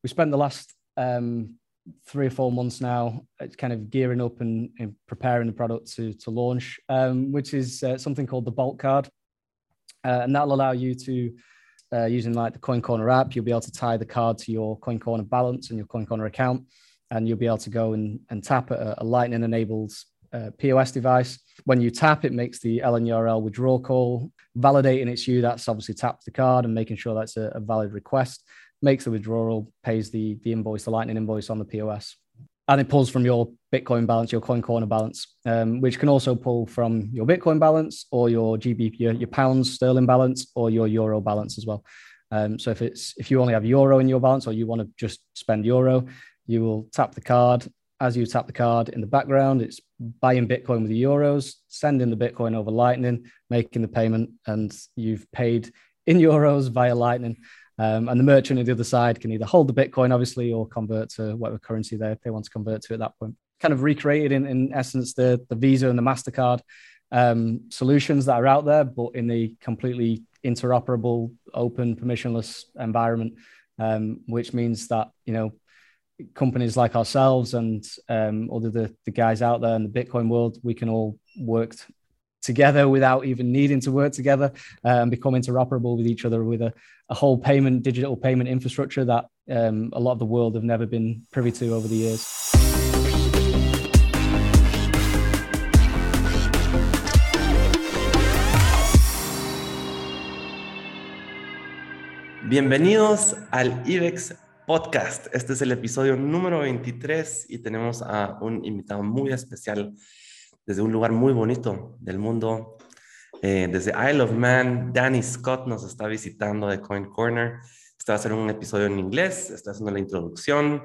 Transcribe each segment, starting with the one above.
we spent the last 3 or 4 months now kind of gearing up and preparing the product to launch, which is something called the Bolt Card. And that'll allow you to, using like the Coin Corner app, you'll be able to tie the card to your Coin Corner balance and your Coin Corner account, and you'll be able to go and tap a Lightning-enabled POS device. When you tap, it makes the LNURL withdrawal call, validating it's you that's obviously tapped the card and making sure that's a valid request, makes the withdrawal, pays the invoice, the Lightning invoice on the POS. And it pulls from your Bitcoin balance, your Coin Corner balance, which can also pull from your Bitcoin balance or your your pounds sterling balance or your euro balance as well. So if you only have euro in your balance or you want to just spend euro, you will tap the card. As you tap the card in the background, it's buying Bitcoin with the euros, sending the Bitcoin over Lightning, making the payment, and you've paid in euros via Lightning. And the merchant on the other side can either hold the Bitcoin, obviously, or convert to whatever currency they want to convert to at that point. Kind of recreated in essence the Visa and the MasterCard solutions that are out there, but in a completely interoperable, open, permissionless environment, which means that, companies like ourselves and all the guys out there in the Bitcoin world, we can all work together without even needing to work together and become interoperable with each other with a whole digital payment infrastructure that a lot of the world have never been privy to over the years. Bienvenidos al IBEX Podcast. Este es el episodio número 23 y tenemos a un invitado muy especial desde un lugar muy bonito del mundo. Desde Isle of Man, Danny Scott nos está visitando de Coin Corner. Este va a ser un episodio en inglés, está haciendo la introducción.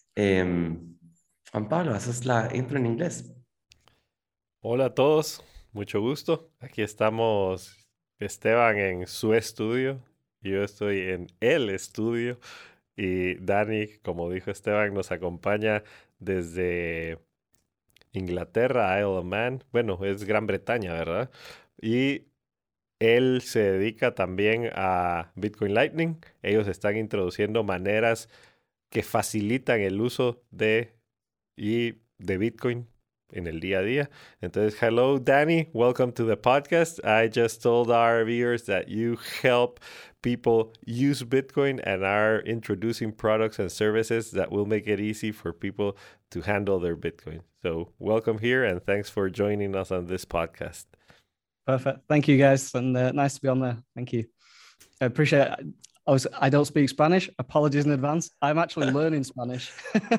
Juan Pablo, haces la intro en inglés. Hola a todos, mucho gusto. Aquí estamos Esteban en su estudio, yo estoy en el estudio y Danny, como dijo Esteban, nos acompaña desde Inglaterra, Isle of Man. Bueno, es Gran Bretaña, ¿verdad? Y él se dedica también a Bitcoin Lightning. Ellos están introduciendo maneras que facilitan el uso de Bitcoin en el día a día. Entonces, hello, Danny. Welcome to the podcast. I just told our viewers that you help people use Bitcoin and are introducing products and services that will make it easy for people to handle their Bitcoin. So welcome here and thanks for joining us on this podcast. Perfect. Thank you, guys. And nice to be on there. Thank you. I appreciate it. I don't speak Spanish. Apologies in advance. I'm actually learning Spanish.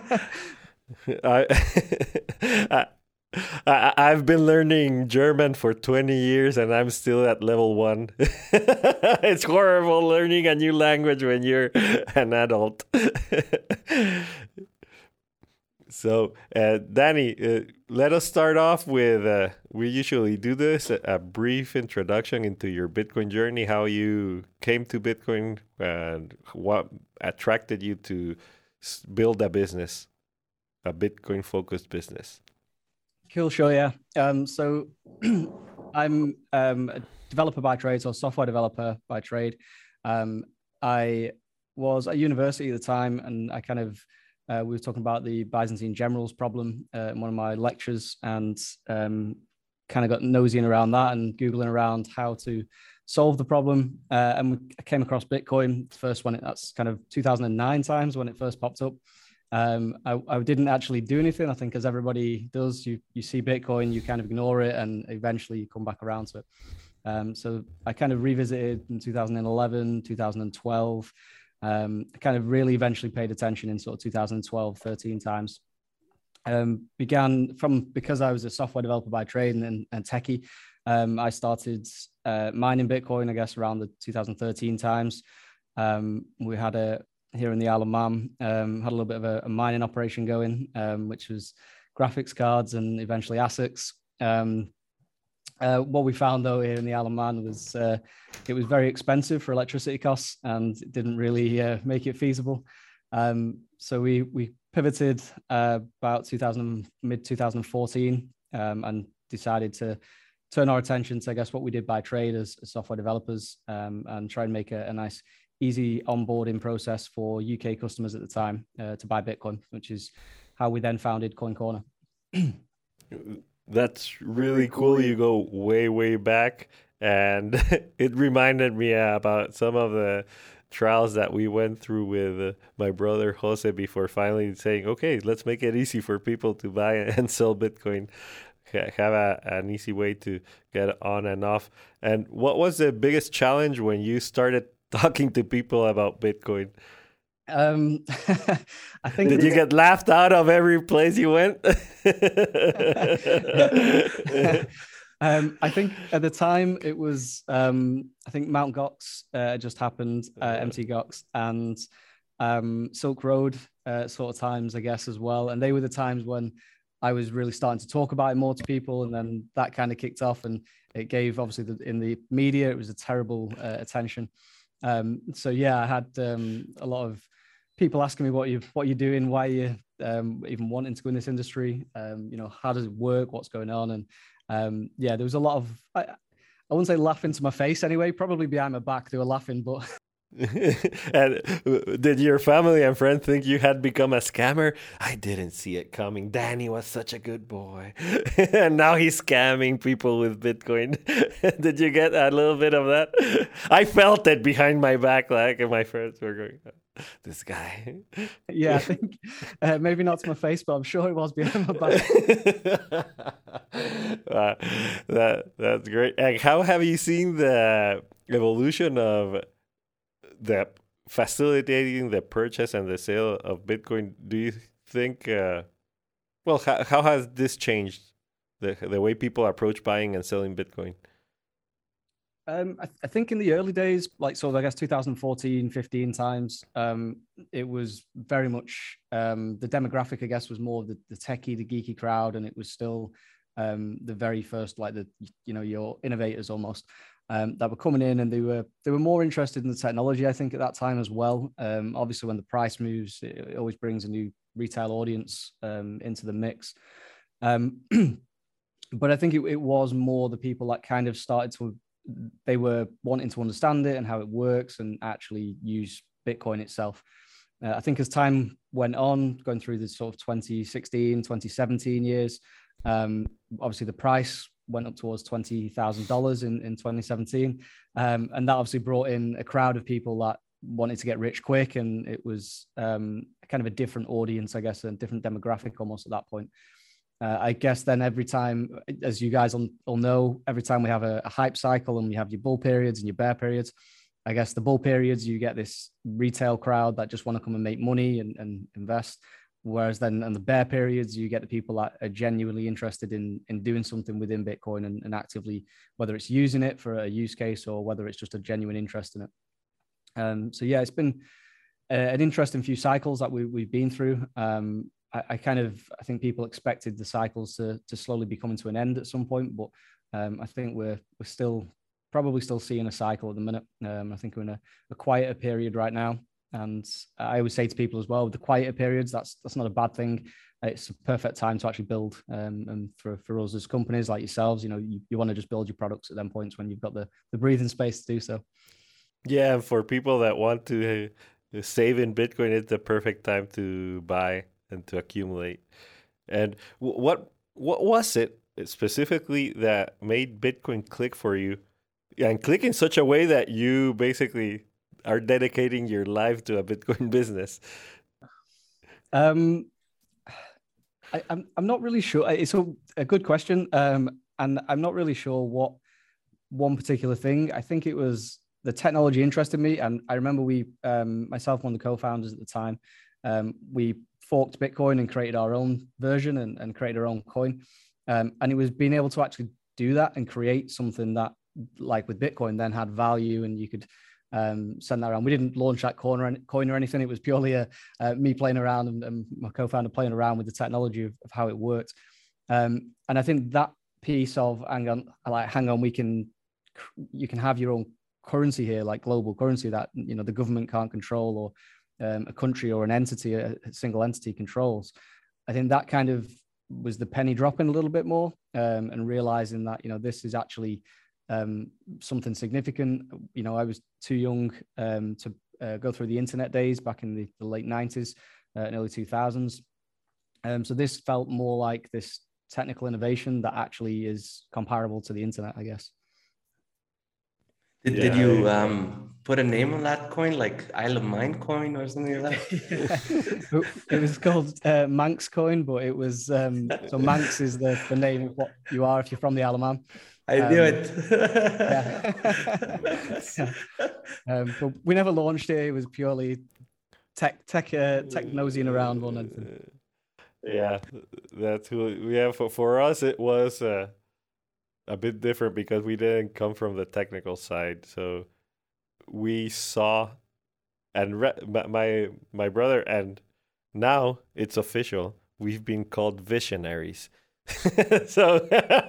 I've been learning German for 20 years and I'm still at level 1. It's horrible learning a new language when you're an adult. So, Danny, let us start off with, we usually do this, a brief introduction into your Bitcoin journey, how you came to Bitcoin and what attracted you to build a business, a Bitcoin-focused business. Cool, sure, yeah. So I'm a developer by trade, so a software developer by trade. I was at university at the time, and I kind of, we were talking about the Byzantine generals problem in one of my lectures, and kind of got nosying around that and Googling around how to solve the problem. And I came across Bitcoin first that's kind of 2009 times when it first popped up. I didn't actually do anything. I think as everybody does, you see Bitcoin, you kind of ignore it, and eventually you come back around to it. So I kind of revisited in 2011, 2012. I kind of really eventually paid attention in sort of 2012, 13 times. Because I was a software developer by trade and techie, I started mining Bitcoin, I guess, around the 2013 times. We had here in the Isle of Man, had a little bit of a mining operation going, which was graphics cards and eventually ASICs. What we found though here in the Isle of Man was it was very expensive for electricity costs and it didn't really make it feasible. So we pivoted about mid 2014 and decided to turn our attention to, I guess, what we did by trade as software developers and try and make a nice easy onboarding process for UK customers at the time to buy Bitcoin, which is how we then founded Coin Corner. That's really cool. You go way, way back. And it reminded me about some of the trials that we went through with my brother Jose before finally saying, okay, let's make it easy for people to buy and sell Bitcoin. Have an easy way to get on and off. And what was the biggest challenge when you started talking to people about Bitcoin? I think did you get laughed out of every place you went? I think at the time it was I think Mount Gox just happened, MT Gox, and Silk Road sort of times, I guess, as well. And they were the times when I was really starting to talk about it more to people, and then that kind of kicked off, and it gave, obviously, in the media, it was a terrible attention. So yeah, I had a lot of people asking me what you're doing, why you even wanting to go in this industry, how does it work, what's going on, and yeah, there was a lot of I wouldn't say laughing to my face anyway, probably behind my back they were laughing, but. And did your family and friends think you had become a scammer? I didn't see it coming. Danny was such a good boy. And now he's scamming people with Bitcoin. Did you get a little bit of that? I felt it behind my back, like, and my friends were going, this guy. Yeah, I think maybe not to my face, but I'm sure it was behind my back. That's great. And how have you seen the evolution of the facilitating the purchase and the sale of Bitcoin? Do you think, how has this changed the way people approach buying and selling Bitcoin? I think in the early days, like sort of, I guess, 2014, 15 times, it was very much the demographic, I guess, was more the techie, the geeky crowd. And it was still the very first, like your innovators almost. That were coming in, and they were more interested in the technology, I think, at that time as well. Obviously, when the price moves, it always brings a new retail audience into the mix. But I think it was more the people that kind of they were wanting to understand it and how it works and actually use Bitcoin itself. I think as time went on, going through the sort of 2016, 2017 years, obviously the price went up towards $20,000 in 2017. And that obviously brought in a crowd of people that wanted to get rich quick. And it was kind of a different audience, I guess, a different demographic almost at that point. I guess then every time, as you guys all know, every time we have a hype cycle and we have your bull periods and your bear periods, I guess the bull periods, you get this retail crowd that just want to come and make money and invest. Whereas then in the bear periods, you get the people that are genuinely interested in doing something within Bitcoin and actively, whether it's using it for a use case or whether it's just a genuine interest in it. So yeah, it's been an interesting few cycles that we've been through. I think people expected the cycles to slowly be coming to an end at some point, but I think we're probably still seeing a cycle at the minute. I think we're in a quieter period right now. And I always say to people as well, the quieter periods, that's not a bad thing. It's a perfect time to actually build. And for us as companies like yourselves, you want to just build your products at them points when you've got the breathing space to do so. Yeah, for people that want to save in Bitcoin, it's the perfect time to buy and to accumulate. And what was it specifically that made Bitcoin click for you, and click in such a way that you basically are dedicating your life to a Bitcoin business? I'm not really sure. It's a good question, and I'm not really sure what one particular thing. I think it was the technology interested me, and I remember we, myself, one of the co-founders at the time, we forked Bitcoin and created our own version and created our own coin, and it was being able to actually do that and create something that, like with Bitcoin, then had value, and you could send that around. We didn't launch that coin or anything. It was purely me playing around and my co-founder playing around with the technology of how it worked. And I think that piece of hang on, you can have your own currency here, like global currency that the government can't control, or a country or an entity, a single entity controls. I think that kind of was the penny dropping a little bit more, and realizing that this is actually something significant. I was too young to go through the internet days back in the late 90s and early 2000s. So this felt more like this technical innovation that actually is comparable to the internet, I guess. Did you put a name on that coin, like Isle of Mind coin or something like that? It was called Manx coin, but it was so Manx is the name of what you are if you're from the Isle of Man. I knew it. But we never launched it. It was purely tech nosing around more than anything. Yeah, that's who. Yeah, for us it was a bit different because we didn't come from the technical side. So we saw and my brother, and now it's official. We've been called visionaries. So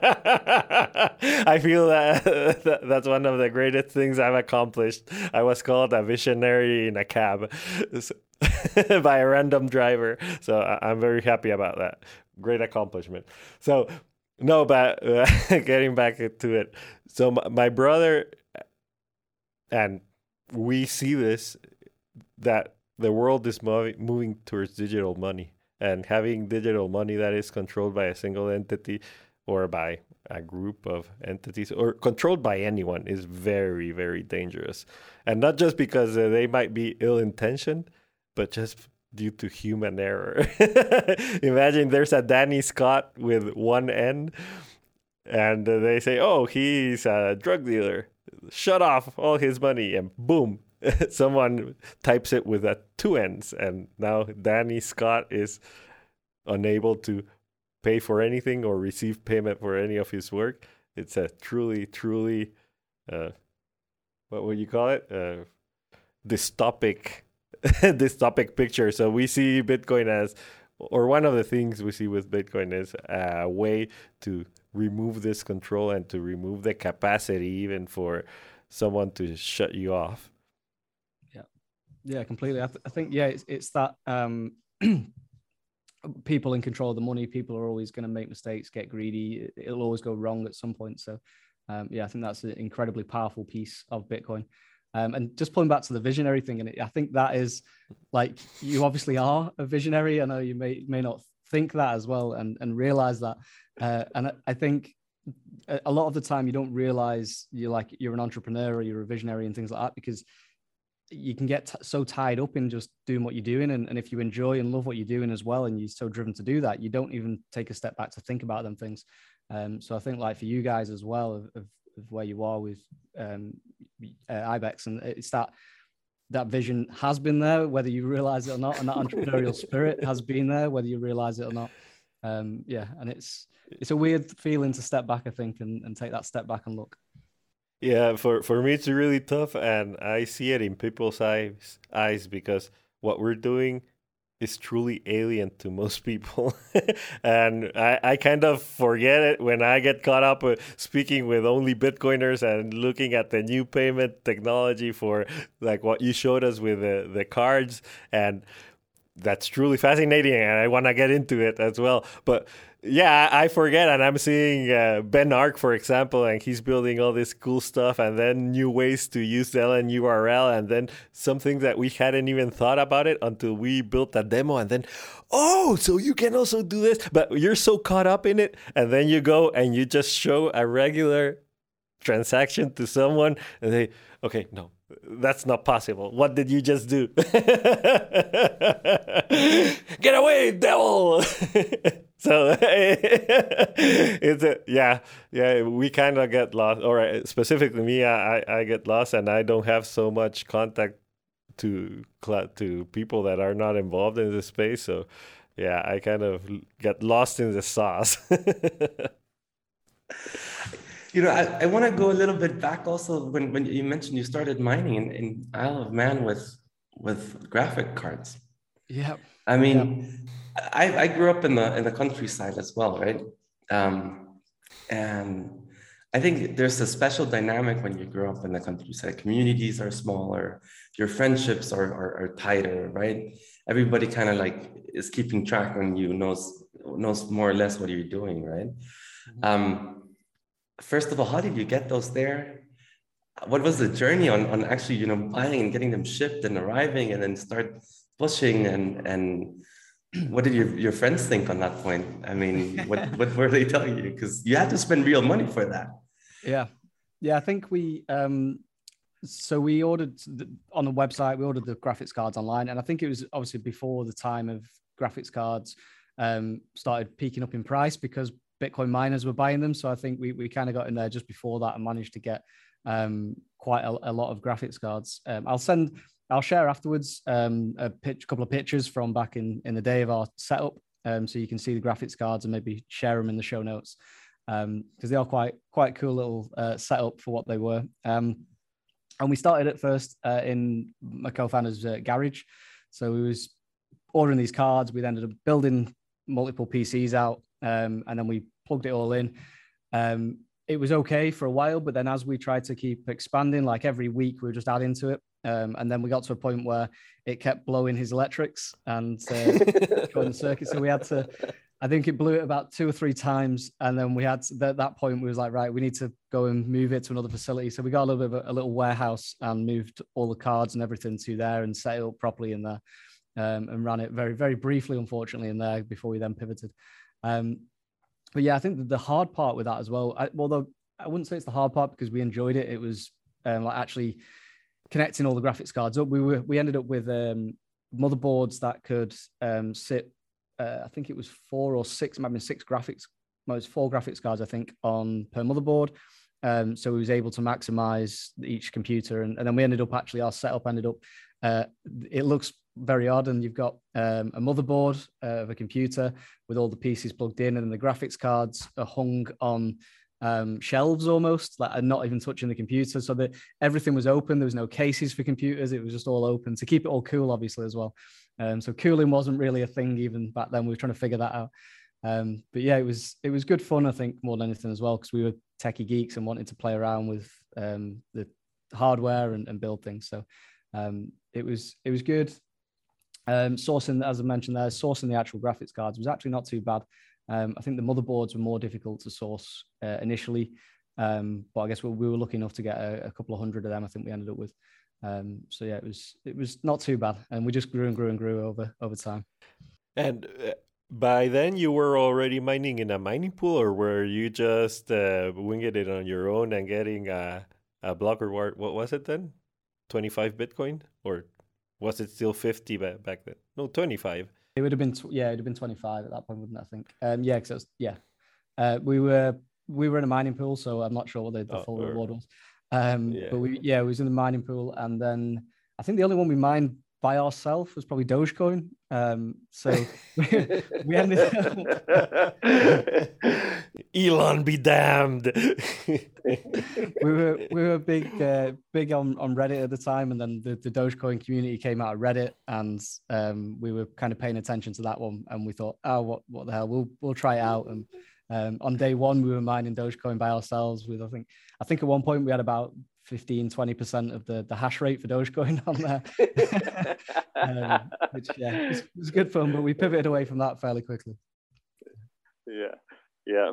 I feel that's one of the greatest things I've accomplished. I was called a visionary in a cab by a random driver. So I'm very happy about that. Great accomplishment. So no, but getting back to it. So my brother and we see this, that the world is moving towards digital money, and having digital money that is controlled by a single entity or by a group of entities or controlled by anyone is very, very dangerous. And not just because they might be ill-intentioned, but just due to human error. Imagine there's a Danny Scott with one N, and they say, oh, he's a drug dealer. Shut off all his money, and boom, someone types it with two N's, and now Danny Scott is unable to pay for anything or receive payment for any of his work. It's a truly, what would you call it? Dystopic picture. So we see Bitcoin as, or one of the things we see with Bitcoin is a way to remove this control and to remove the capacity even for someone to shut you off. Yeah, completely. I think it's that people in control of the money. People are always going to make mistakes, get greedy. It'll always go wrong at some point. So I think that's an incredibly powerful piece of Bitcoin. And just pulling back to the visionary thing, and I think that is, like, you obviously are a visionary. I know you may not think that as well, and realize that. And I think a lot of the time you don't realize you're an entrepreneur or you're a visionary and things like that, because you can get so tied up in just doing what you're doing. And if you enjoy and love what you're doing as well, and you're so driven to do that, you don't even take a step back to think about them things. So I think, like, for you guys as well, of where you are with Ibex, and it's that vision has been there, whether you realize it or not, and that entrepreneurial spirit has been there, whether you realize it or not. And it's a weird feeling to step back, I think, and take that step back and look. Yeah, for me it's really tough, and I see it in people's eyes because what we're doing is truly alien to most people. And I kind of forget it when I get caught up with speaking with only Bitcoiners and looking at the new payment technology for, like, what you showed us with the cards, and that's truly fascinating, and I want to get into it as well. But yeah, I forget, and I'm seeing Ben Arc, for example, and he's building all this cool stuff, and then new ways to use the LNURL, and then something that we hadn't even thought about it until we built a demo, and then, oh, so you can also do this, but you're so caught up in it, and then you go and you just show a regular transaction to someone, and they, okay, no, that's not possible. What did you just do? Get away, devil! So we kind of get lost. Or specifically me, I get lost, and I don't have so much contact to people that are not involved in this space. So yeah, I kind of get lost in the sauce. I want to go a little bit back also when you mentioned you started mining in Isle of Man with graphic cards. Yeah. I mean, I grew up in the countryside as well, right? And I think there's a special dynamic when you grow up in the countryside. Communities are smaller, your friendships are tighter, right? Everybody kind of like is keeping track on you, knows more or less what you're doing, right? Mm-hmm. First of all, how did you get those there? what was the journey on actually, you know, buying and getting them shipped and arriving and then start pushing and what did your friends think on that point? I mean, what were they telling you? Because you had to spend real money for that. Yeah, I think so we ordered on the website, we ordered the graphics cards online, and I think it was obviously before the time of graphics cards started peaking up in price because Bitcoin miners were buying them. So I think we kind of got in there just before that and managed to get quite a lot of graphics cards. I'll share afterwards a couple of pictures from back in the day of our setup, so you can see the graphics cards and maybe share them in the show notes, because they are quite cool little setup for what they were. And we started at first in my co-founder's garage. So we was ordering these cards. We ended up building multiple PCs out, and then we plugged it all in. It was okay for a while, but then as we tried to keep expanding, like every week we were just adding to it. And then we got to a point where it kept blowing his electrics and going the circuit. So we had to, I think it blew it about 2 or 3 times. And then we had to, at that point, we was like, right, we need to go and move it to another facility. So we got a little bit of a little warehouse and moved all the cards and everything to there and set it up properly in there, and ran it very, very briefly, unfortunately, in there before we then pivoted. But yeah, I think the hard part with that as well, although I wouldn't say it's the hard part because we enjoyed it. It was like actually connecting all the graphics cards up. We ended up with motherboards that could sit, I think it was 4 or 6, might have been 6 graphics, well, it was 4 graphics cards, I think, on per motherboard. So we was able to maximize each computer. And then we ended up actually, our setup ended up, it looks very odd, and you've got a motherboard of a computer with all the pieces plugged in, and then the graphics cards are hung on shelves almost, like not even touching the computer, so that everything was open. There was no cases for computers. It was just all open to keep it all cool, obviously, as well. So cooling wasn't really a thing even back then. We were trying to figure that out. But yeah, it was good fun, I think, more than anything as well, because we were techie geeks and wanted to play around with the hardware and build things. So it was good. Sourcing, as I mentioned there, sourcing the actual graphics cards was actually not too bad. I think the motherboards were more difficult to source initially, but I guess we were lucky enough to get a couple of hundred of them. I think we ended up with. So yeah, it was not too bad, and we just grew and grew and grew over time. And by then, you were already mining in a mining pool, or were you just winging it on your own and getting a block reward? What was it then? 25 Bitcoin, or was it still 50 back then? No, 25. It would have been, it'd have been 25 at that point, wouldn't it, I think? Yeah, because we were in a mining pool, so I'm not sure what the full reward was. But we was in the mining pool, and then I think the only one we mined by ourselves was probably Dogecoin. So we ended up... Elon be damned. we were big on Reddit at the time, and then the Dogecoin community came out of Reddit, and we were kind of paying attention to that one, and we thought, oh, what the hell, we'll try it out. And on day one, we were mining Dogecoin by ourselves with, I think at one point we had about 15-20% of the hash rate for Dogecoin on there, which it was good fun, but we pivoted away from that fairly quickly. Yeah.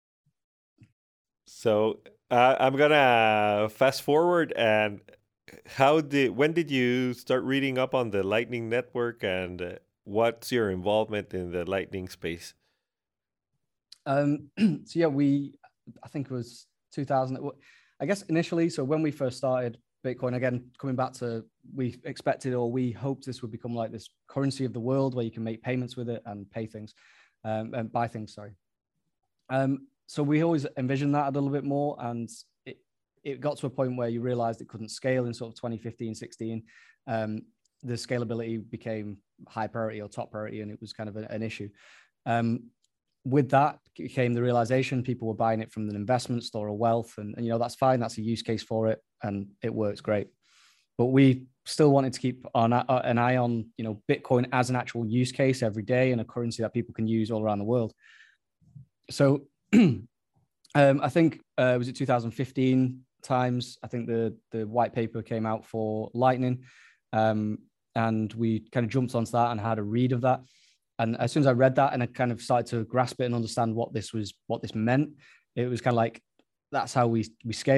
So I'm gonna fast forward. And when did you start reading up on the Lightning Network, and what's your involvement in the Lightning space? So yeah, I think it was 2000. I guess initially, so when we first started Bitcoin, again, coming back to, we expected, or we hoped this would become like this currency of the world where you can make payments with it and pay things, and buy things, sorry. So we always envisioned that a little bit more, and it got to a point where you realized it couldn't scale in sort of 2015, 16. The scalability became high priority or top priority, and it was kind of an issue. With that came the realization people were buying it from an investment store or wealth, and that's fine. That's a use case for it, and it works great. But we still wanted to keep an eye on, Bitcoin as an actual use case every day and a currency that people can use all around the world. So I think, was it 2015 times? I think the white paper came out for Lightning, and we kind of jumped onto that and had a read of that. And as soon as I read that and I kind of started to grasp it and understand what this meant, it was kind of like, that's how we scale.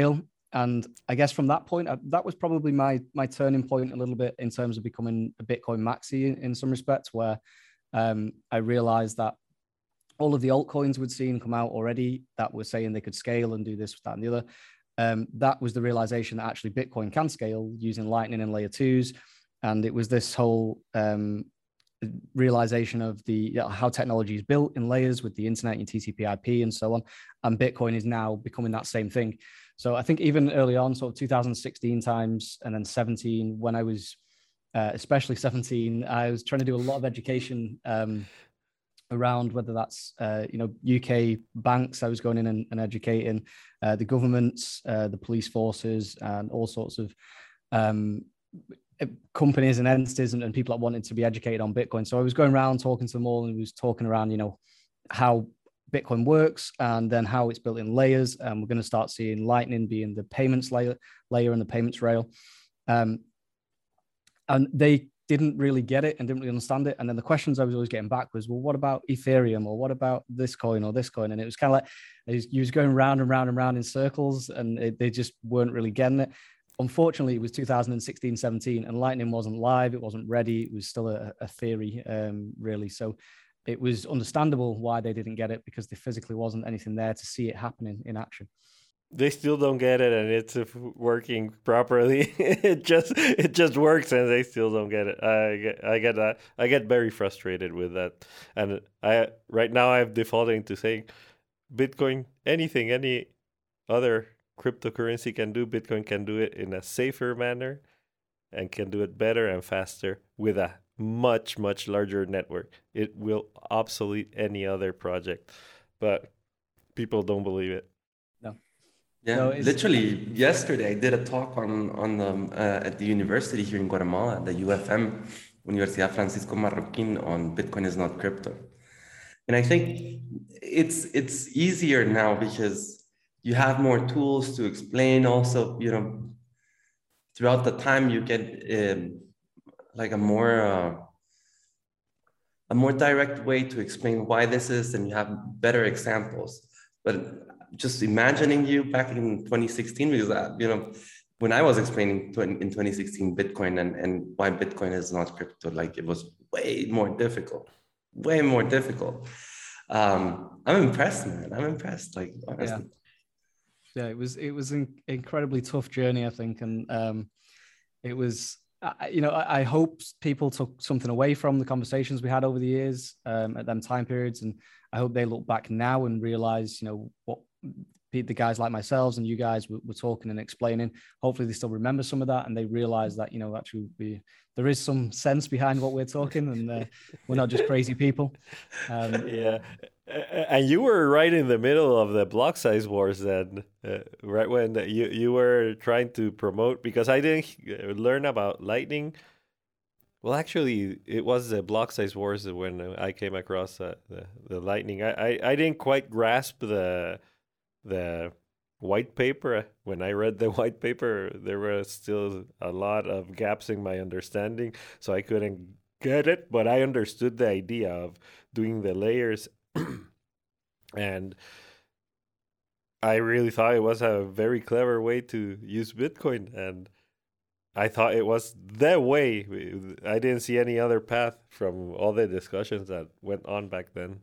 And I guess from that point, that was probably my turning point a little bit in terms of becoming a Bitcoin maxi in some respects, where I realized that all of the altcoins we'd seen come out already that were saying they could scale and do this, that, and the other. That was the realization that actually Bitcoin can scale using Lightning and layer twos. And it was this whole realization of how technology is built in layers with the internet and TCP/IP and so on. And Bitcoin is now becoming that same thing. So I think even early on, sort of 2016 times, and then 17, when I was especially 17, I was trying to do a lot of education around whether that's UK banks. I was going in and educating the governments, the police forces, and all sorts of companies and entities and people that wanted to be educated on Bitcoin. So I was going around talking to them all, and was talking around, how Bitcoin works and then how it's built in layers. And we're going to start seeing Lightning being the payments layer and the payments rail. And they didn't really get it and didn't really understand it. And then the questions I was always getting back was, well, what about Ethereum, or what about this coin or this coin? And it was kind of like you was going round and round and round in circles, and they just weren't really getting it. Unfortunately, it was 2016, 17, and Lightning wasn't live. It wasn't ready. It was still a theory, really. So it was understandable why they didn't get it, because there physically wasn't anything there to see it happening in action. They still don't get it, and it's working properly. it just works, and they still don't get it. I get that. I get very frustrated with that, and right now I'm defaulting to saying Bitcoin, anything, any other cryptocurrency can do. Bitcoin can do it in a safer manner, and can do it better and faster with a much, much larger network. It will obsolete any other project, but people don't believe it. No. Yeah, So literally yesterday I did a talk on the at the university here in Guatemala, the UFM, Universidad Francisco Marroquín, on Bitcoin is not crypto. And I think it's easier now because you have more tools to explain. Also, throughout the time you get like a more direct way to explain why this is, and you have better examples. But just imagining you back in 2016, because when I was explaining in 2016 Bitcoin and why Bitcoin is not crypto, like, it was way more difficult. I'm impressed, man. I'm impressed, like, honestly. Yeah, it was an incredibly tough journey, I think, and it was. I hope people took something away from the conversations we had over the years at them time periods, and I hope they look back now and realize, what the guys like myself and you guys were talking and explaining. Hopefully they still remember some of that, and they realize that, actually there is some sense behind what we're talking, and we're not just crazy people. Yeah. And you were right in the middle of the block size wars then, right when you were trying to promote, because I didn't learn about Lightning. Well, actually, it was the block size wars when I came across the Lightning. I didn't quite grasp the white paper. When I read the white paper, there were still a lot of gaps in my understanding, so I couldn't get it, but I understood the idea of doing the layers. And I really thought it was a very clever way to use Bitcoin, and I thought it was the way. I didn't see any other path from all the discussions that went on back then.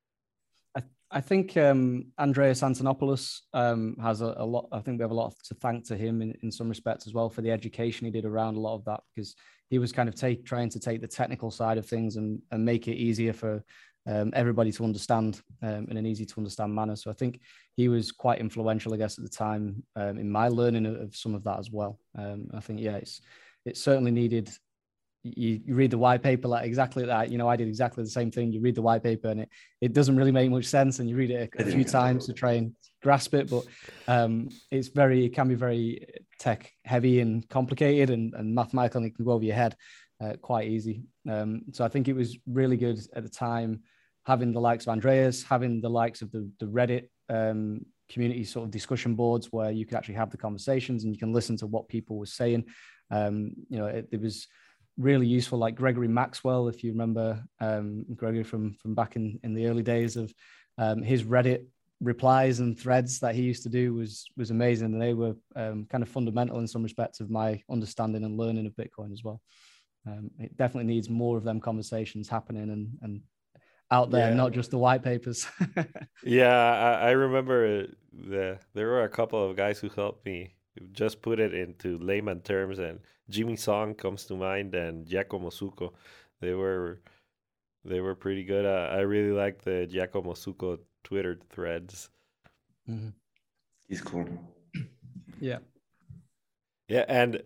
I think Andreas Antonopoulos has a lot. I think we have a lot to thank to him in some respects as well for the education he did around a lot of that, because he was kind of trying to take the technical side of things and make it easier for everybody to understand in an easy to understand manner. So I think he was quite influential, I guess, at the time in my learning of some of that as well. I think, yeah, it's certainly needed. You read the white paper like exactly that. I did exactly the same thing. You read the white paper and it doesn't really make much sense, and you read it a few times to try and grasp it. But it can be very tech heavy and complicated and mathematical, and it can go over your head quite easy. So I think it was really good at the time, having the likes of Andreas, having the likes of the Reddit community sort of discussion boards where you can actually have the conversations and you can listen to what people were saying. It was really useful, like Gregory Maxwell, if you remember Gregory from back in the early days of his Reddit replies and threads that he used to do was amazing, and they were kind of fundamental in some respects of my understanding and learning of Bitcoin as well. It definitely needs more of them conversations happening and out there, not just the white papers. Yeah, I remember there were a couple of guys who helped me just put it into layman terms, and Jimmy Song comes to mind, and Giacomo Succo. They were pretty good. I really like the Giacomo Succo Twitter threads. Mm-hmm. He's cool. Yeah. Yeah, and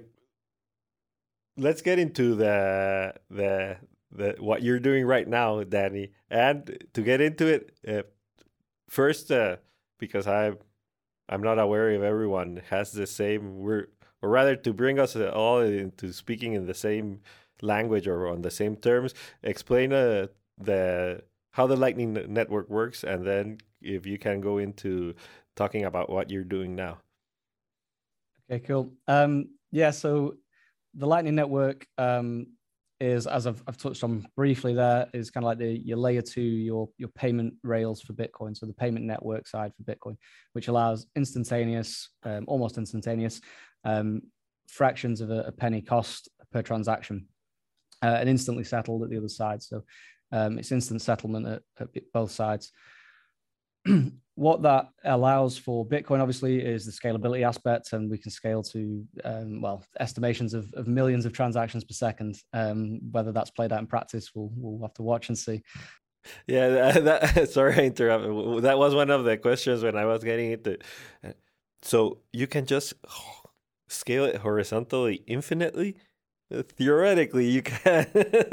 let's get into the what you're doing right now, Danny. And to get into it, first, because I'm not aware if everyone has the same, or rather to bring us all into speaking in the same language or on the same terms, explain how the Lightning Network works, and then if you can go into talking about what you're doing now. Okay, cool. Yeah, so the Lightning Network is, as I've touched on briefly there, is kind of like your layer 2, your payment rails for Bitcoin. So the payment network side for Bitcoin, which allows instantaneous, almost instantaneous fractions of a penny cost per transaction and instantly settled at the other side. So it's instant settlement at both sides. What that allows for Bitcoin, obviously, is the scalability aspect, and we can scale to, estimations of millions of transactions per second. Whether that's played out in practice, we'll have to watch and see. Yeah, sorry I interrupted. That was one of the questions when I was getting into. So you can just scale it horizontally infinitely? Theoretically, you can.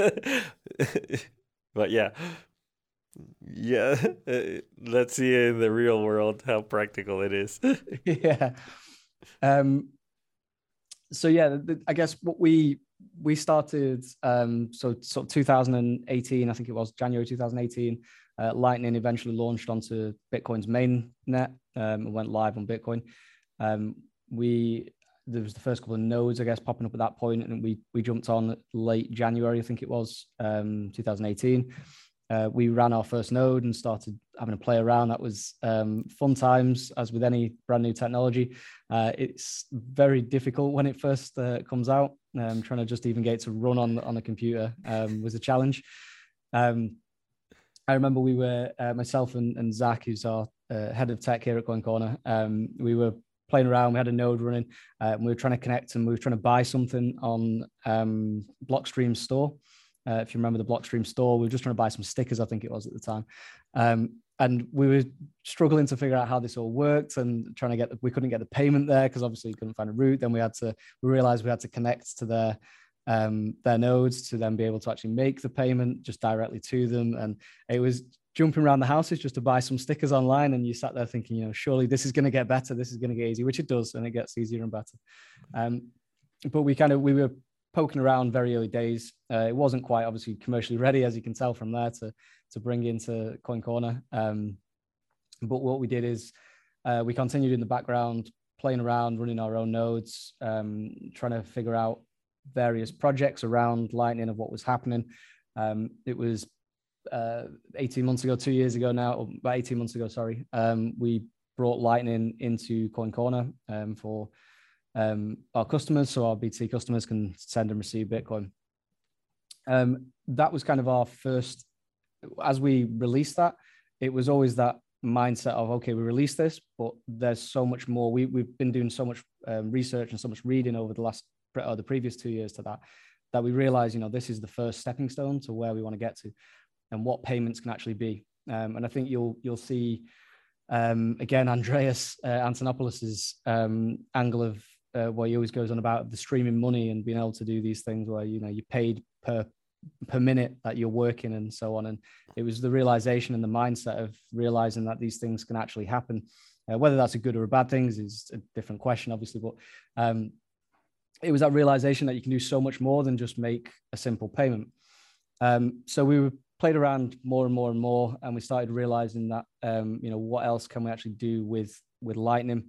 But yeah. Yeah, let's see in the real world how practical it is. Yeah. So yeah, I guess what we started, so sort of 2018, I think it was January 2018, Lightning eventually launched onto Bitcoin's main net and went live on Bitcoin. There was the first couple of nodes, I guess, popping up at that point, and we jumped on late January, I think it was, 2018. We ran our first node and started having a play around. That was fun times, as with any brand new technology. It's very difficult when it first comes out. Trying to just even get it to run on a computer was a challenge. I remember we were, myself and Zach, who's our head of tech here at Coin Corner, we were playing around. We had a node running. And we were trying to connect, and we were trying to buy something on Blockstream store. If you remember the Blockstream store, we were just trying to buy some stickers, I think it was at the time. And we were struggling to figure out how this all worked, and we couldn't get the payment there because obviously we couldn't find a route. Then we realized we had to connect to their nodes to then be able to actually make the payment just directly to them. And it was jumping around the houses just to buy some stickers online. And you sat there thinking, surely this is going to get better. This is going to get easy, which it does. And it gets easier and better. But we were poking around very early days. It wasn't quite obviously commercially ready, as you can tell from there, to bring into Coin Corner. But what we did is we continued in the background, playing around, running our own nodes, trying to figure out various projects around Lightning of what was happening. It was 18 months ago, 2 years ago now, or about 18 months ago, sorry. We brought Lightning into Coin Corner for our customers, so our BTC customers can send and receive Bitcoin. That was kind of our first, as we released that, it was always that mindset of, okay, we released this, but there's so much more. We've been doing so much research and so much reading over the previous 2 years to that we realize, this is the first stepping stone to where we want to get to and what payments can actually be. And I think you'll see, again, Andreas Antonopoulos's angle of where he always goes on about the streaming money and being able to do these things where, you paid per minute that you're working and so on. And it was the realization and the mindset of realizing that these things can actually happen. Whether that's a good or a bad thing is a different question, obviously, but it was that realization that you can do so much more than just make a simple payment. So we played around more and more and more, and we started realizing that, what else can we actually do with Lightning?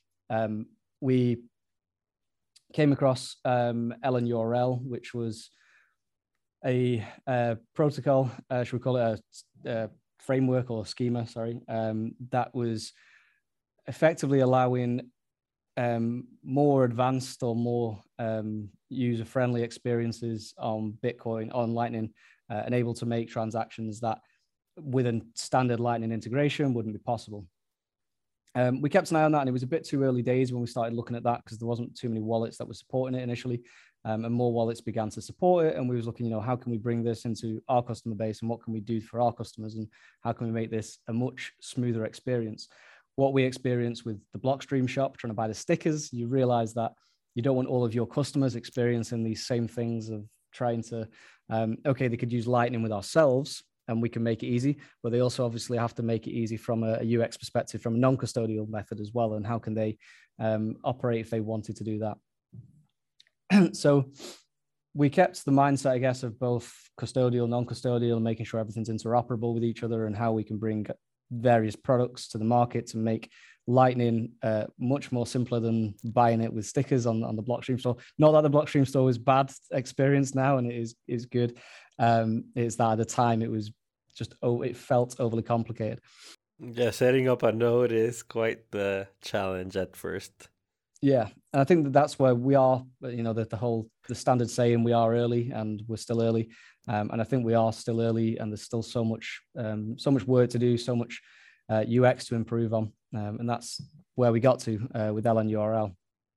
We came across LNURL, which was a protocol, should we call it a framework or schema, that was effectively allowing more advanced or more user-friendly experiences on Bitcoin, on Lightning, and able to make transactions that with a standard Lightning integration wouldn't be possible. We kept an eye on that, and it was a bit too early days when we started looking at that because there wasn't too many wallets that were supporting it initially, and more wallets began to support it. And we was looking, how can we bring this into our customer base, and what can we do for our customers, and how can we make this a much smoother experience? What we experienced with the Blockstream shop, trying to buy the stickers, you realize that you don't want all of your customers experiencing these same things of trying to, okay, they could use Lightning with ourselves, and we can make it easy, but they also obviously have to make it easy from a UX perspective, from a non-custodial method as well. And how can they operate if they wanted to do that? So we kept the mindset, I guess, of both custodial, non-custodial, making sure everything's interoperable with each other, and how we can bring various products to the market to make Lightning much more simpler than buying it with stickers on the Blockstream store. Not that the Blockstream store was bad experience now, and it is good. It's that at the time it was just, it felt overly complicated. Yeah, setting up a node is quite the challenge at first. Yeah, and I think that's where we are. The standard saying, we are early, and we're still early. And I think we are still early, and there's still so much work to do, so much UX to improve on, and that's where we got to with LNURL.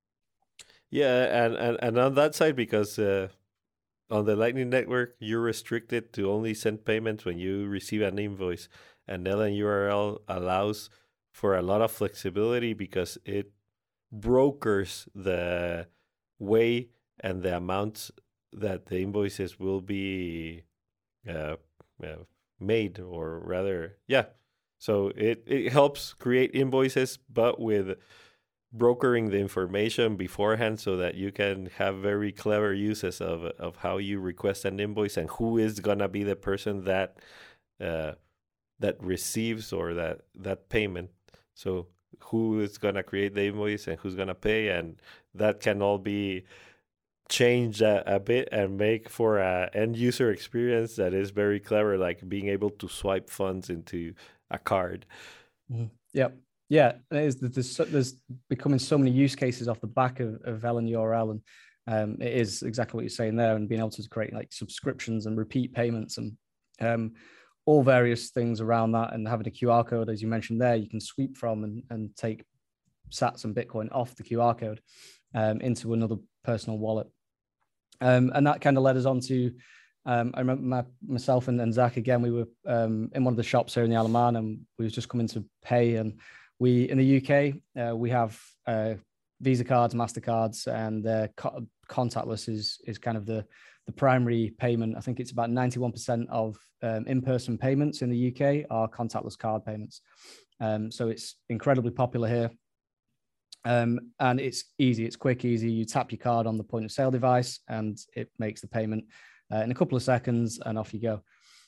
Yeah, and on that side, because on the Lightning Network, you're restricted to only send payments when you receive an invoice, and LNURL allows for a lot of flexibility because it brokers the way and the amounts that the invoices will be made, or rather, yeah. So it helps create invoices, but with brokering the information beforehand so that you can have very clever uses of how you request an invoice and who is gonna be the person that receives or that payment. So who is gonna create the invoice and who's gonna pay, and that can all be changed a bit and make for a end user experience that is very clever, like being able to swipe funds into a card. Mm-hmm. Yep. Yeah, there's becoming so many use cases off the back of LNURL, and it is exactly what you're saying there, and being able to create like subscriptions and repeat payments and all various things around that, and having a QR code, as you mentioned there, you can sweep from and take Sats and Bitcoin off the QR code into another personal wallet. And that kind of led us on to, I remember myself and Zach, again, we were in one of the shops here in the Isle of Man, and we was just coming to pay. And we, in the UK, we have Visa cards, MasterCards, and contactless is kind of the primary payment. I think it's about 91% of in-person payments in the UK are contactless card payments. So it's incredibly popular here. And it's easy, it's quick, easy. You tap your card on the point of sale device and it makes the payment in a couple of seconds, and off you go.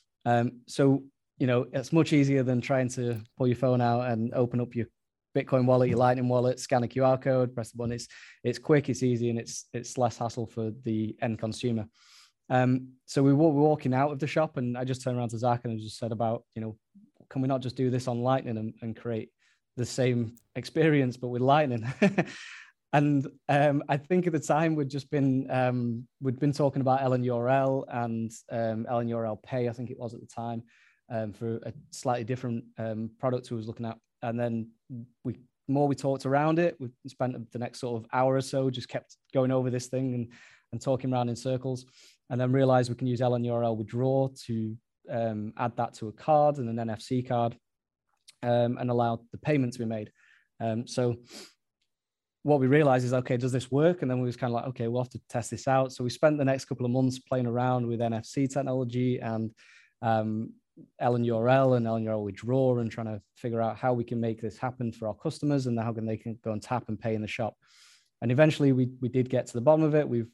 So, it's much easier than trying to pull your phone out and open up your Bitcoin wallet, your Lightning wallet, scan a QR code, press the button. It's quick, it's easy, and it's less hassle for the end consumer. So we were walking out of the shop, and I just turned around to Zach and I just said about, can we not just do this on Lightning and create the same experience, but with Lightning? And I think at the time we'd been talking about LNURL and LNURL Pay, I think it was at the time, for a slightly different product we was looking at. And then we talked around it. We spent the next sort of hour or so just kept going over this thing and talking around in circles, and then realized we can use LNURL Withdraw to add that to a card and an NFC card, and allow the payment to be made. So what we realized is, okay, does this work? And then we was kind of like, okay, we'll have to test this out. So we spent the next couple of months playing around with NFC technology and LNURL and LNURL Withdraw, and trying to figure out how we can make this happen for our customers, and how they can go and tap and pay in the shop. And eventually we did get to the bottom of it. We've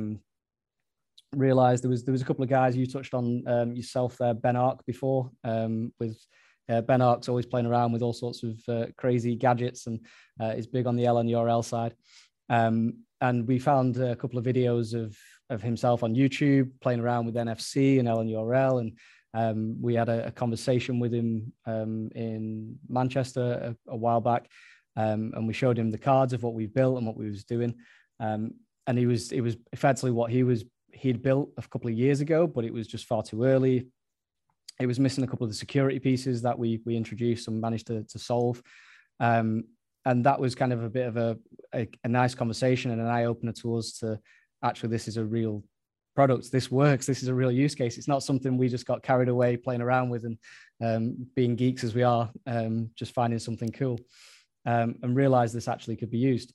realized there was a couple of guys, you touched on yourself there, Ben Ark, before, with Ben Ark's always playing around with all sorts of crazy gadgets, and is big on the LNURL side. And we found a couple of videos of himself on YouTube playing around with NFC and LNURL, We had a conversation with him in Manchester a while back, and we showed him the cards of what we built and what we was doing. And it was effectively what he'd built a couple of years ago, but it was just far too early. It was missing a couple of the security pieces that we introduced and managed to solve. And that was kind of a bit of a nice conversation and an eye opener to us to actually, this is a real product. This works. This is a real use case. It's not something we just got carried away playing around with and being geeks as we are, just finding something cool, and realize this actually could be used.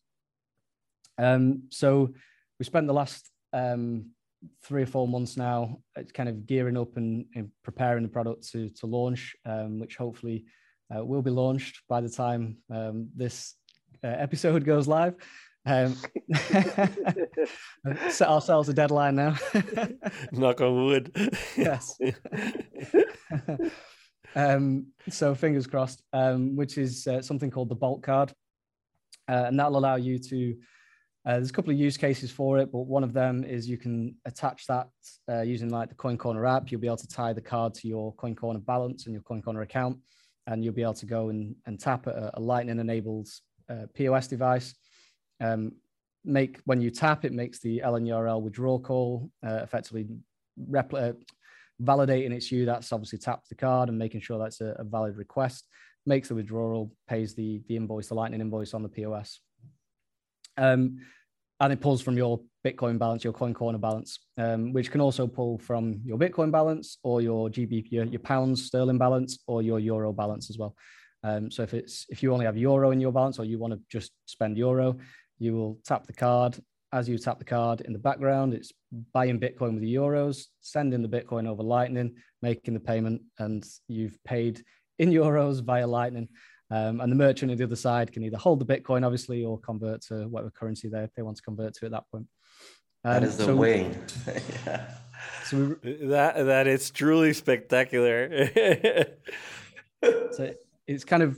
So we spent the last 3 or 4 months now kind of gearing up and preparing the product to launch, which hopefully will be launched by the time this episode goes live. Set ourselves a deadline now. Knock on wood. Yes. So fingers crossed, which is something called the Bolt card. And that'll allow you to, there's a couple of use cases for it, but one of them is you can attach that using like the Coin Corner app. You'll be able to tie the card to your Coin Corner balance and your Coin Corner account, and you'll be able to go and tap a Lightning-enabled POS device. When you tap, it makes the LNURL withdrawal call, effectively validating it's you that's obviously tapped the card and making sure that's a valid request, makes the withdrawal, pays the invoice, the Lightning invoice on the POS. And it pulls from your Bitcoin balance, your Coin Corner balance, which can also pull from your Bitcoin balance or your your pounds sterling balance or your euro balance as well. So if you only have euro in your balance or you want to just spend euro, you will tap the card. As you tap the card in the background, it's buying Bitcoin with the euros, sending the Bitcoin over Lightning, making the payment, and you've paid in euros via Lightning. And the merchant on the other side can either hold the Bitcoin, obviously, or convert to whatever currency they want to convert to at that point. That is the way. Yeah. So that is truly spectacular. So it's kind of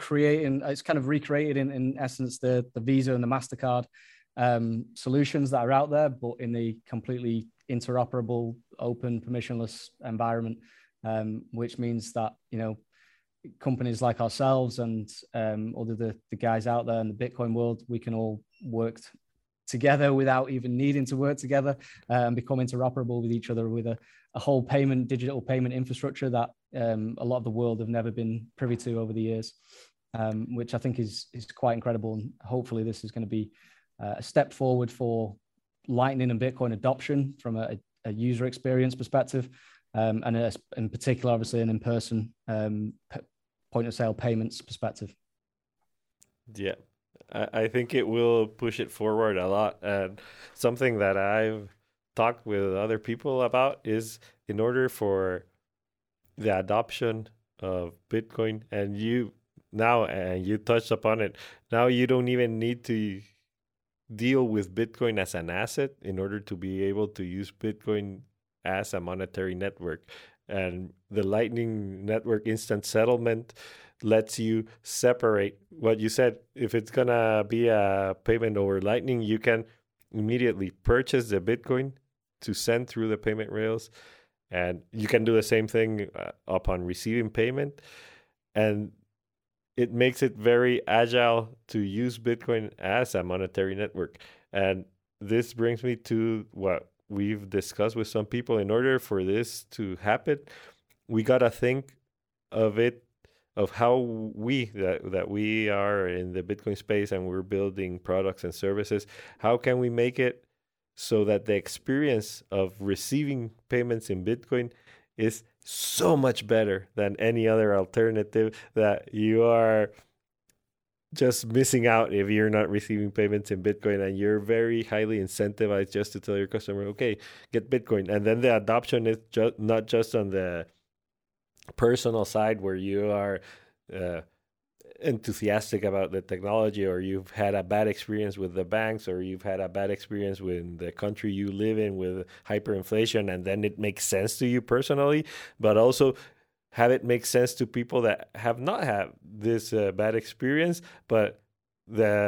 recreated in essence the Visa and the MasterCard solutions that are out there, but in a completely interoperable, open, permissionless environment, which means that, companies like ourselves and other the guys out there in the Bitcoin world, we can all work together without even needing to work together, and become interoperable with each other with a whole digital payment infrastructure that a lot of the world have never been privy to over the years, which I think is quite incredible. And hopefully this is going to be a step forward for Lightning and Bitcoin adoption from a user experience perspective, and in particular, obviously, an in-person point of sale payments perspective. Yeah, I think it will push it forward a lot. And something that I've talked with other people about is, in order for the adoption of Bitcoin, and you touched upon it, now you don't even need to deal with Bitcoin as an asset in order to be able to use Bitcoin as a monetary network. And the Lightning Network instant settlement lets you separate what you said. If it's going to be a payment over Lightning, you can immediately purchase the Bitcoin to send through the payment rails. And you can do the same thing upon receiving payment. And it makes it very agile to use Bitcoin as a monetary network. And this brings me to what we've discussed with some people. In order for this to happen, we got to think of how that we are in the Bitcoin space and we're building products and services. How can we make it so that the experience of receiving payments in Bitcoin is so much better than any other alternative, that you are just missing out if you're not receiving payments in Bitcoin, and you're very highly incentivized just to tell your customer, okay, get Bitcoin. And then the adoption is not just on the personal side where you are enthusiastic about the technology, or you've had a bad experience with the banks, or you've had a bad experience with the country you live in with hyperinflation, and then it makes sense to you personally, but also have it make sense to people that have not had this bad experience, but the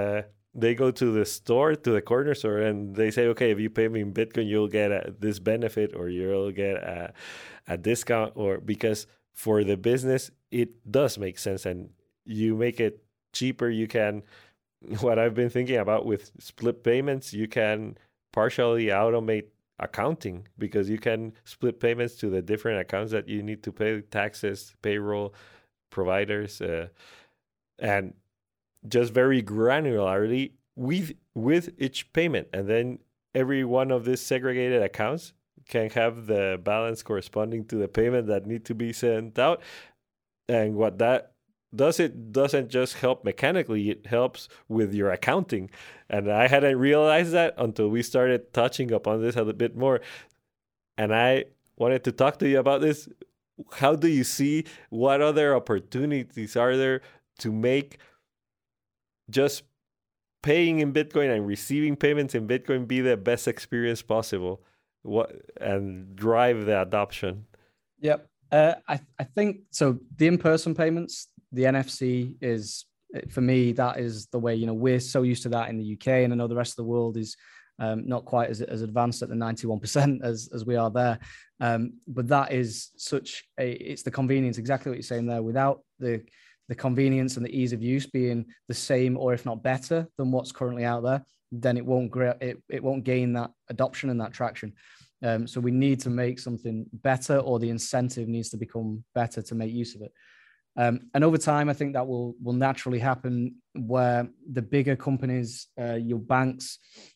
they go to the store, to the corner store, and they say, okay, if you pay me in Bitcoin, you'll get this benefit, or you'll get a discount, or because for the business, it does make sense, and you make it cheaper. You can, what I've been thinking about with split payments, you can partially automate accounting, because you can split payments to the different accounts that you need to pay taxes, payroll, providers, and just very granularly with each payment. And then every one of these segregated accounts can have the balance corresponding to the payment that need to be sent out. And what that does, it doesn't just help mechanically, it helps with your accounting. And I hadn't realized that until we started touching upon this a little bit more. And I wanted to talk to you about this. How do you see, what other opportunities are there to make just paying in Bitcoin and receiving payments in Bitcoin be the best experience possible, and drive the adoption? Yep. I think so. The in-person payments, the NFC is, for me, that is the way. We're so used to that in the UK, and I know the rest of the world is not quite as advanced at the 91% as we are there. But that is it's the convenience, exactly what you're saying there. Without the convenience and the ease of use being the same, or if not better than what's currently out there, then it won't gain that adoption and that traction. So we need to make something better, or the incentive needs to become better to make use of it. And over time, I think that will naturally happen, where the bigger companies, your banks,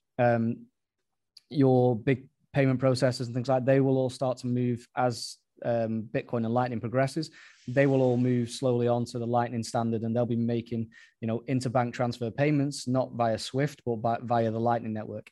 your big payment processors and things like that, they will all start to move as Bitcoin and Lightning progresses. They will all move slowly onto the Lightning standard, and they'll be making, interbank transfer payments, not via SWIFT, but via the Lightning network.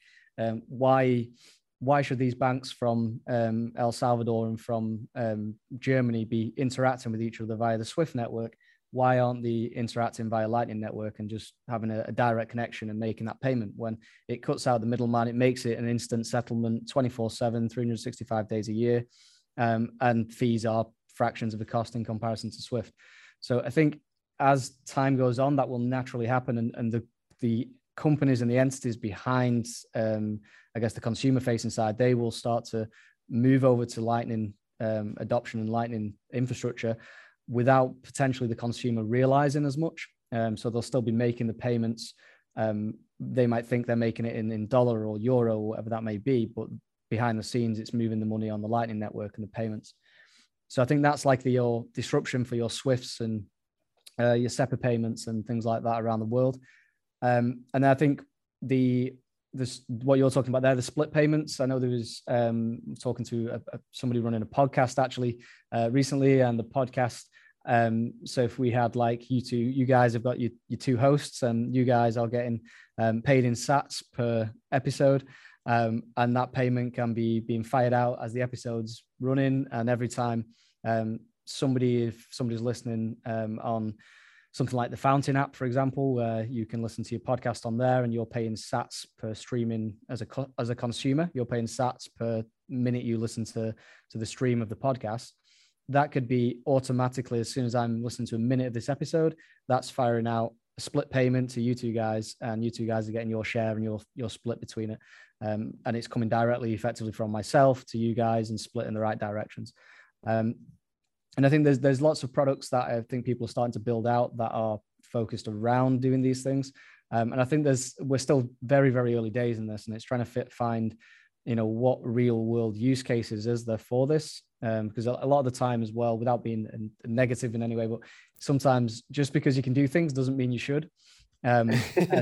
Why should these banks from El Salvador and from Germany be interacting with each other via the SWIFT network? Why aren't they interacting via Lightning network and just having a direct connection and making that payment? When it cuts out the middleman, it makes it an instant settlement 24/7, 365 days a year. And fees are fractions of the cost in comparison to SWIFT. So I think as time goes on, that will naturally happen. And the companies and the entities behind, I guess, the consumer-facing side, they will start to move over to Lightning adoption and Lightning infrastructure without potentially the consumer realizing as much. So they'll still be making the payments. They might think they're making it in dollar or euro or whatever that may be, but behind the scenes, it's moving the money on the Lightning network and the payments. So I think that's like your disruption for your Swifts and your SEPA payments and things like that around the world. And I think what you're talking about there, the split payments. I know there was talking to somebody running a podcast actually recently, and the podcast. So if we had like you guys have got your two hosts, and you guys are getting paid in sats per episode. And that payment can be being fired out as the episode's running, and every time if somebody's listening on something like the Fountain app, for example, where you can listen to your podcast on there, and you're paying sats per streaming as a consumer, you're paying sats per minute you listen to the stream of the podcast. That could be automatically, as soon as I'm listening to a minute of this episode, that's firing out a split payment to you two guys, and you two guys are getting your share and your split between it. And it's coming directly, effectively, from myself to you guys and split in the right directions. And I think there's lots of products that I think people are starting to build out that are focused around doing these things. And I think we're still very, very early days in this, and it's trying to find, what real world use cases is there for this. Because a lot of the time as well, without being negative in any way, but sometimes just because you can do things doesn't mean you should. And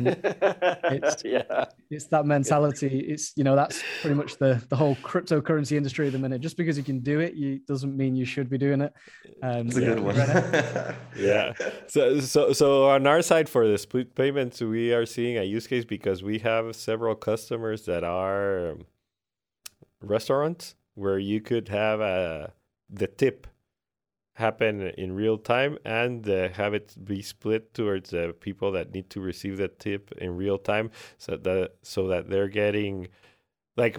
it's that mentality. It's, that's pretty much the whole cryptocurrency industry at the minute. Just because you can do it, doesn't mean you should be doing it. That's a good one. Yeah. So on our side for the split payments, we are seeing a use case because we have several customers that are restaurants where you could have the tip happen in real time and have it be split towards the people that need to receive the tip in real time, so that they're getting, like,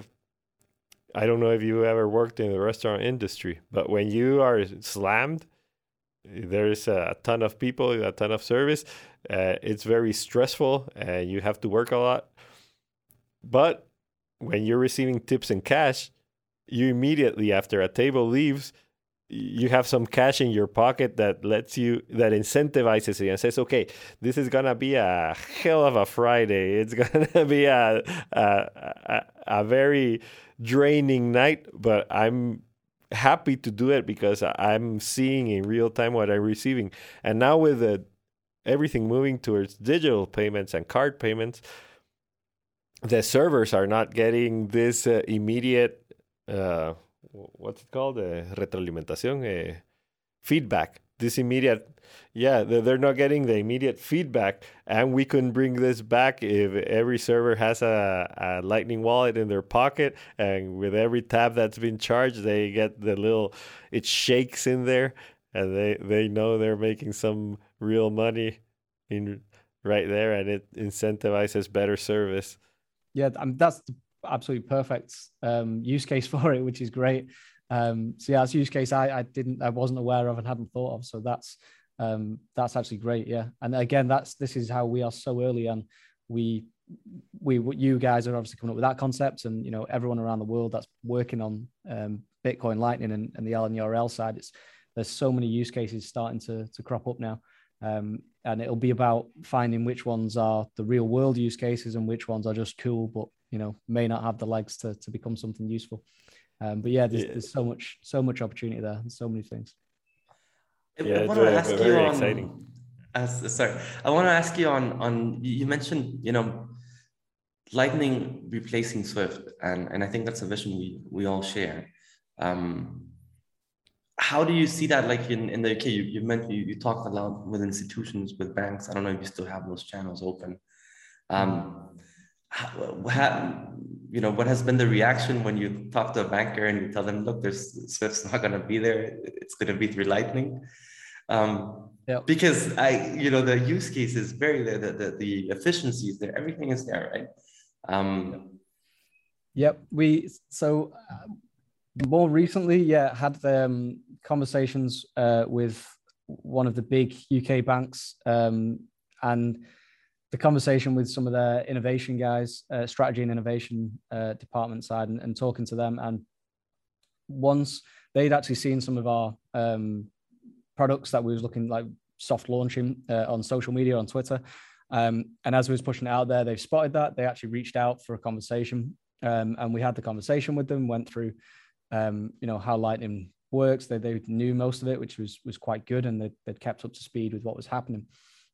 I don't know if you ever worked in the restaurant industry, but when you are slammed there's a ton of people, a ton of service. It's very stressful, and you have to work a lot. But when you're receiving tips in cash, you immediately, after a table leaves, you have some cash in your pocket that incentivizes you and says, okay, this is going to be a hell of a Friday. It's going to be a very draining night, but I'm happy to do it because I'm seeing in real time what I'm receiving. And now with everything moving towards digital payments and card payments, the servers are not getting this immediate, what's it called? Retroalimentación, feedback. This immediate, they're not getting the immediate feedback. And we can bring this back if every server has a Lightning wallet in their pocket. And with every tab that's been charged, they get it shakes in there. And they know they're making some real money right there. And it incentivizes better service. Yeah, that's the absolutely perfect use case for it, which is great. So yeah, that's a use case I wasn't aware of and hadn't thought of. So that's actually great. Yeah, and again, this is how we are so early, and you guys are obviously coming up with that concept, and everyone around the world that's working on Bitcoin Lightning and the LNURL side. There's so many use cases starting to crop up now. And it'll be about finding which ones are the real world use cases and which ones are just cool, but may not have the legs to become something useful. But yeah, there's so much opportunity there and so many things. I want to ask you very exciting. I want to ask you on you mentioned Lightning replacing Swift, and I think that's a vision we all share. How do you see that, like in the UK? You mentioned you talked a lot with institutions, with banks. I don't know if you still have those channels open. What has been the reaction when you talk to a banker and you tell them, look, Swift's not going to be there. It's going to be through Lightning. Because the use case is very there, the efficiency is there, everything is there, right? More recently, had conversations with one of the big UK banks, and the conversation with some of their innovation guys, strategy and innovation department side, and talking to them. And once they'd actually seen some of our products that we was looking like soft launching on social media, on Twitter. And as we was pushing it out there, they've spotted that. They actually reached out for a conversation. And we had the conversation with them, went through how Lightning works. They knew most of it, which was quite good, and they'd kept up to speed with what was happening.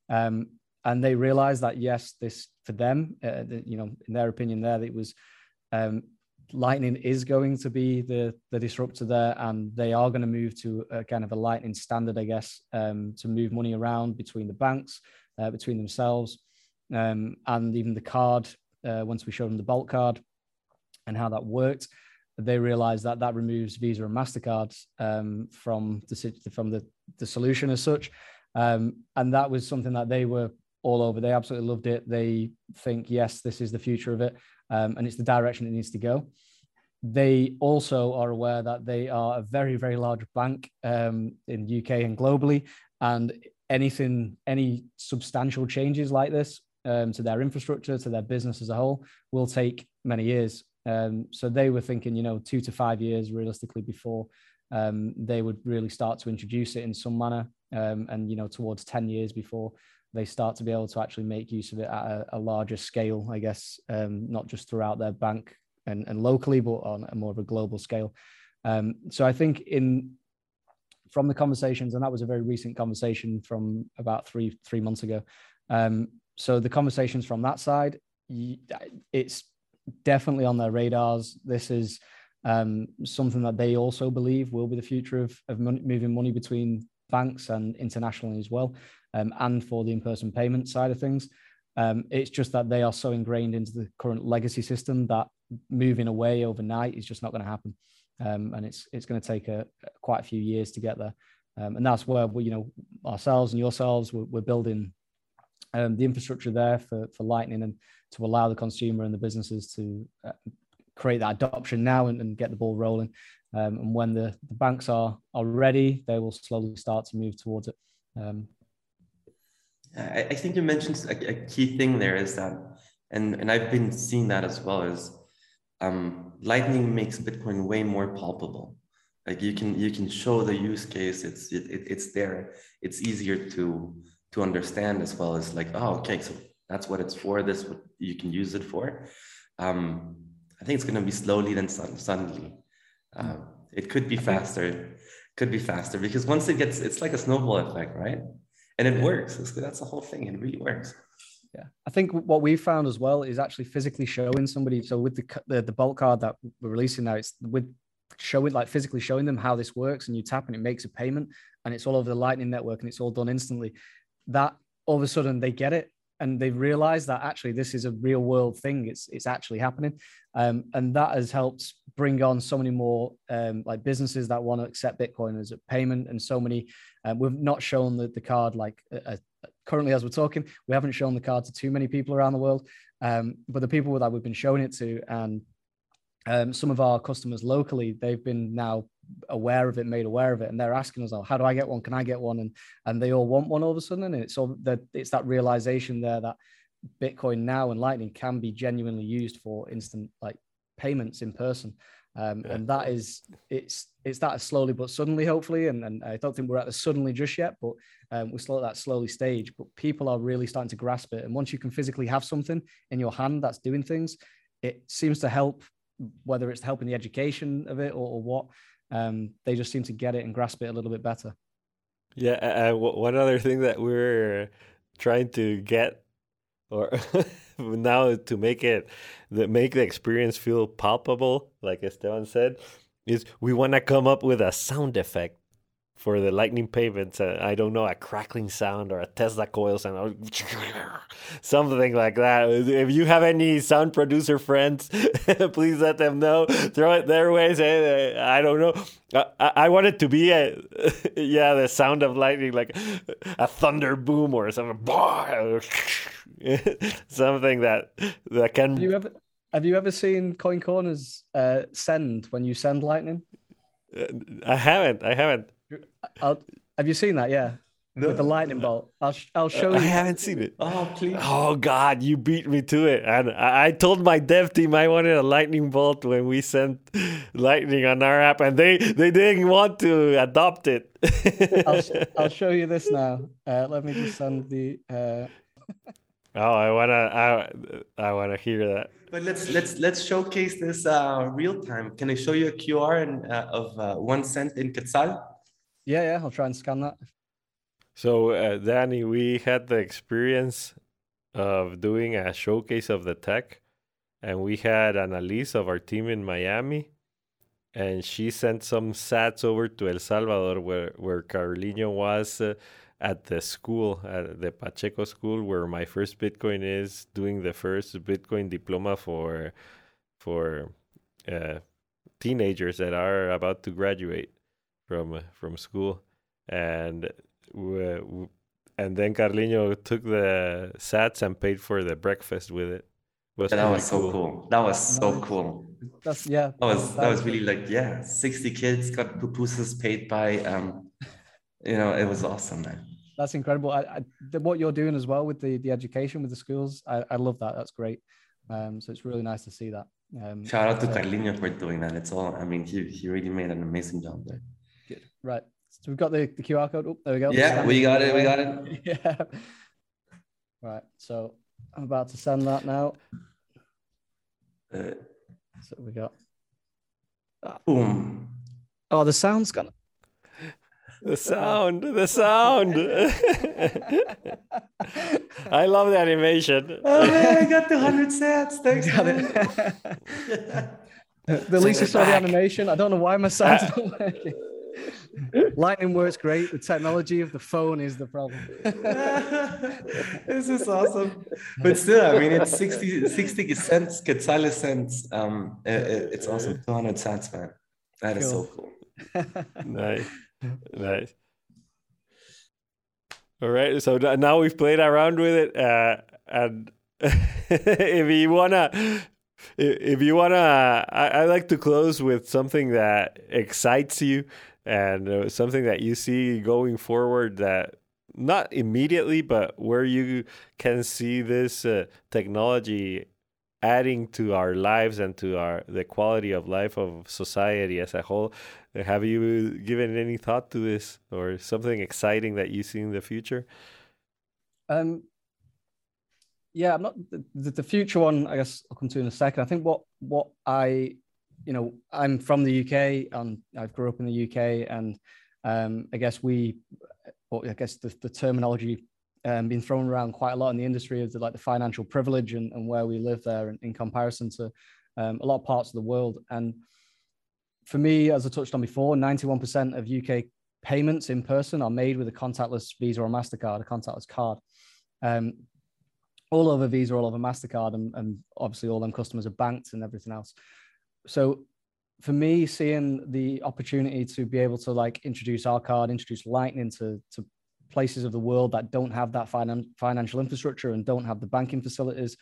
And they realized that, yes, this for them, in their opinion there, that it was Lightning is going to be the disruptor there, and they are going to move to a kind of a Lightning standard, I guess, to move money around between the banks, between themselves, and even the card. Once we showed them the Bolt card and how that worked, they realized that removes Visa and MasterCard from the solution as such. And that was something that they were all over. They absolutely loved it. They think, yes, this is the future of it. And it's the direction it needs to go. They also are aware that they are a very, very large bank in the UK and globally. And any substantial changes like this to their infrastructure, to their business as a whole, will take many years. So they were thinking, 2 to 5 years realistically before they would really start to introduce it in some manner. And, towards 10 years before they start to be able to actually make use of it at a larger scale, I guess, not just throughout their bank and locally, but on a more of a global scale. So I think from the conversations, and that was a very recent conversation from about three months ago. So the conversations from that side, it's definitely on their radars. This is something that they also believe will be the future of moving money between banks and internationally as well, and for the in-person payment side of things. It's just that they are so ingrained into the current legacy system that moving away overnight is just not going to happen. And it's going to take quite a few years to get there. And that's where ourselves and yourselves, we're building the infrastructure there for Lightning, and to allow the consumer and the businesses to create that adoption now and get the ball rolling. And when the banks are ready, they will slowly start to move towards it. I think you mentioned a key thing there is that, and I've been seeing that as well, is Lightning makes Bitcoin way more palpable. Like you can show the use case. It's there. It's easier to understand, as well as like, oh, okay, so that's what it's for. This what you can use it for. I think it's going to be slowly, then suddenly. It could be faster. Could be faster because once it gets, it's like a snowball effect, right? And it works. That's the whole thing. It really works. Yeah, I think what we found as well is actually physically showing somebody. So with the Bolt card that we're releasing now, it's with showing, like physically showing them how this works, and you tap and it makes a payment, and it's all over the Lightning Network, and it's all done instantly. That all of a sudden they get it, and they realize that actually this is a real world thing. It's actually happening, and that has helped bring on so many more like businesses that want to accept Bitcoin as a payment, and so many. We've not shown the card like currently as we're talking. We haven't shown the card to too many people around the world, but the people that we've been showing it to, and some of our customers locally, they've been now made aware of it, and they're asking us, "Oh, how do I get one? Can I get one?" And they all want one all of a sudden, and it's that realization there that Bitcoin now and Lightning can be genuinely used for instant like payments in person, and that is it's that slowly but suddenly, hopefully, and I don't think we're at the suddenly just yet, but we're still at that slowly stage. But people are really starting to grasp it, and once you can physically have something in your hand that's doing things, it seems to help, whether it's helping the education of it or what. They just seem to get it and grasp it a little bit better. Yeah, one other thing that we're trying to get, or now to make the experience feel palpable, like Esteban said, is we want to come up with a sound effect for the Lightning payments. I don't know, a crackling sound or a Tesla coil sound, or something like that. If you have any sound producer friends, please let them know. Throw it their way. Say, I don't know. I want it to be the sound of lightning, like a thunder boom or something. Something that can. Have you ever seen Coin Corner's send when you send Lightning? I haven't. Have you seen that? Yeah, no. With the lightning bolt. I'll show you. I haven't seen it. Oh, please. Oh God, you beat me to it. And I told my dev team I wanted a lightning bolt when we sent lightning on our app, and they didn't want to adopt it. I'll show you this now. Let me just send the. I wanna hear that. But let's showcase this real time. Can I show you a QR of 1 cent in Quetzal? Yeah, I'll try and scan that. So, Danny, we had the experience of doing a showcase of the tech, and we had Annalise of our team in Miami, and she sent some sats over to El Salvador, where Carlinho was at the school, at the Pacheco school, where My First Bitcoin is, doing the first Bitcoin diploma for teenagers that are about to graduate from school, and then Carlinho took the sats and paid for the breakfast with it. That was so cool. That was so cool. That was really like 60 kids got pupusas paid by it was awesome, man. That's incredible. What you're doing as well with the education with the schools, I love that. That's great. So it's really nice to see that. Shout out to Carlinho for doing that. It's all. I mean, he really made an amazing job there. Good. Right. So we've got the QR code. Oh, there we go. Yeah, we got it. Yeah. Right. So I'm about to send that now. So we got. Boom. Oh, the sound's gone. The sound. I love the animation. Oh man, I got the 100 sats. Thanks. The Lisa saw the animation. I don't know why my sound's not working. Lightning works great. The technology of the phone is the problem. This is awesome. But still, I mean, it's 60 cents, Quetzales cents. It's awesome. 200 sats, man. That is so cool. Nice. All right. So now we've played around with it. And if you want to If you wanna, I like to close with something that excites you and something that you see going forward that not immediately, but where you can see this technology adding to our lives and to the quality of life of society as a whole. Have you given any thought to this or something exciting that you see in the future? Yeah, I'm not the future one. I guess I'll come to in a second. I think what I, I'm from the UK and I grew up in the UK, and I guess the terminology been thrown around quite a lot in the industry of the financial privilege and where we live there in comparison to a lot of parts of the world. And for me, as I touched on before, 91% of UK payments in person are made with a contactless Visa or MasterCard, a contactless card. All over Visa, all over MasterCard, and obviously all them customers are banked and everything else. So for me, seeing the opportunity to be able to introduce our card, introduce Lightning to places of the world that don't have that financial infrastructure and don't have the banking facilities,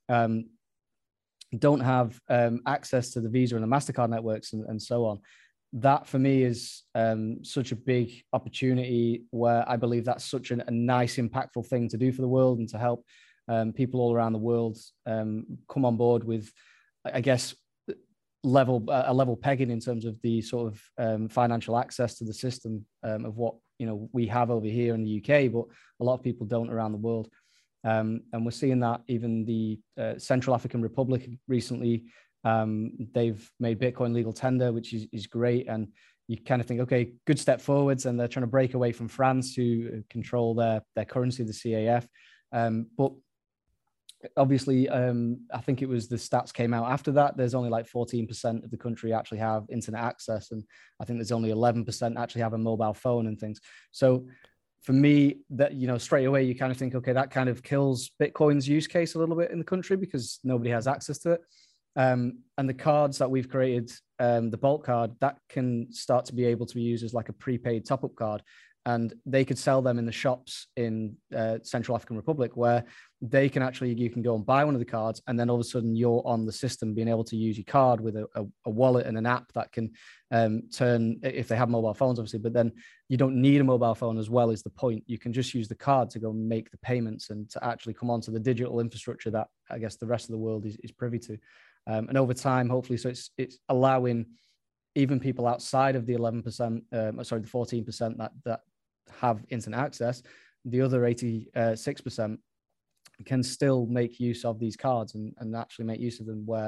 don't have access to the Visa and the MasterCard networks and so on. That for me is such a big opportunity where I believe that's such a nice, impactful thing to do for the world and to help people all around the world come on board with, I guess, a level pegging in terms of the sort of financial access to the system of what we have over here in the UK, but a lot of people don't around the world. And we're seeing that even the Central African Republic recently, they've made Bitcoin legal tender, which is great. And you kind of think, okay, good step forwards. And they're trying to break away from France, who control their currency, the CAF. But obviously, I think it was the stats came out after that. There's only 14% of the country actually have internet access. And I think there's only 11% actually have a mobile phone and things. So for me, that, straight away, you kind of think, okay, that kind of kills Bitcoin's use case a little bit in the country because nobody has access to it. And the cards that we've created, the Bolt card, that can start to be able to be used as a prepaid top-up card. And they could sell them in the shops in Central African Republic, where you can go and buy one of the cards, and then all of a sudden you're on the system being able to use your card with a wallet and an app that can turn, if they have mobile phones, obviously, but then you don't need a mobile phone as well, is the point. You can just use the card to go and make the payments and to actually come onto the digital infrastructure that I guess the rest of the world is privy to. And over time, hopefully, so it's allowing even people outside of the 11%, the 14% that have internet access, the other 86% can still make use of these cards and actually make use of them, where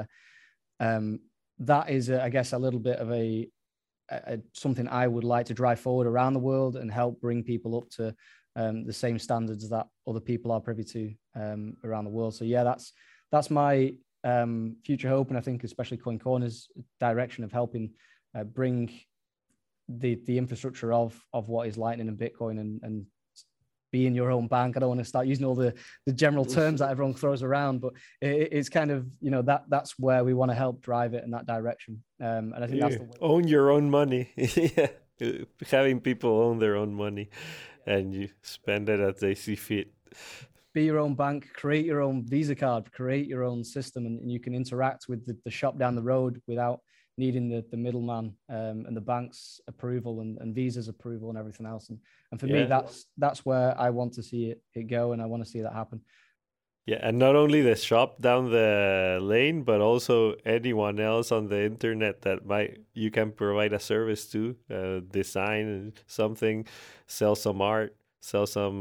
that is, I guess, a little bit of a something I would like to drive forward around the world and help bring people up to the same standards that other people are privy to around the world. So yeah, that's my future hope, and I think especially Coin Corner's direction of helping bring the infrastructure of what is Lightning and Bitcoin and being your own bank. I don't want to start using all the general terms that everyone throws around, but it's kind of, that's where we want to help drive it in that direction. And I think that's the way. Own your own money. Yeah. Having people own their own money and you spend it as they see fit. Be your own bank, create your own Visa card, create your own system, and you can interact with the shop down the road without needing the middleman and the bank's approval and Visa's approval and everything else. And for me, that's where I want to see it go, and I want to see that happen. Yeah, and not only the shop down the lane, but also anyone else on the internet that you can provide a service to, design something, sell some art, sell some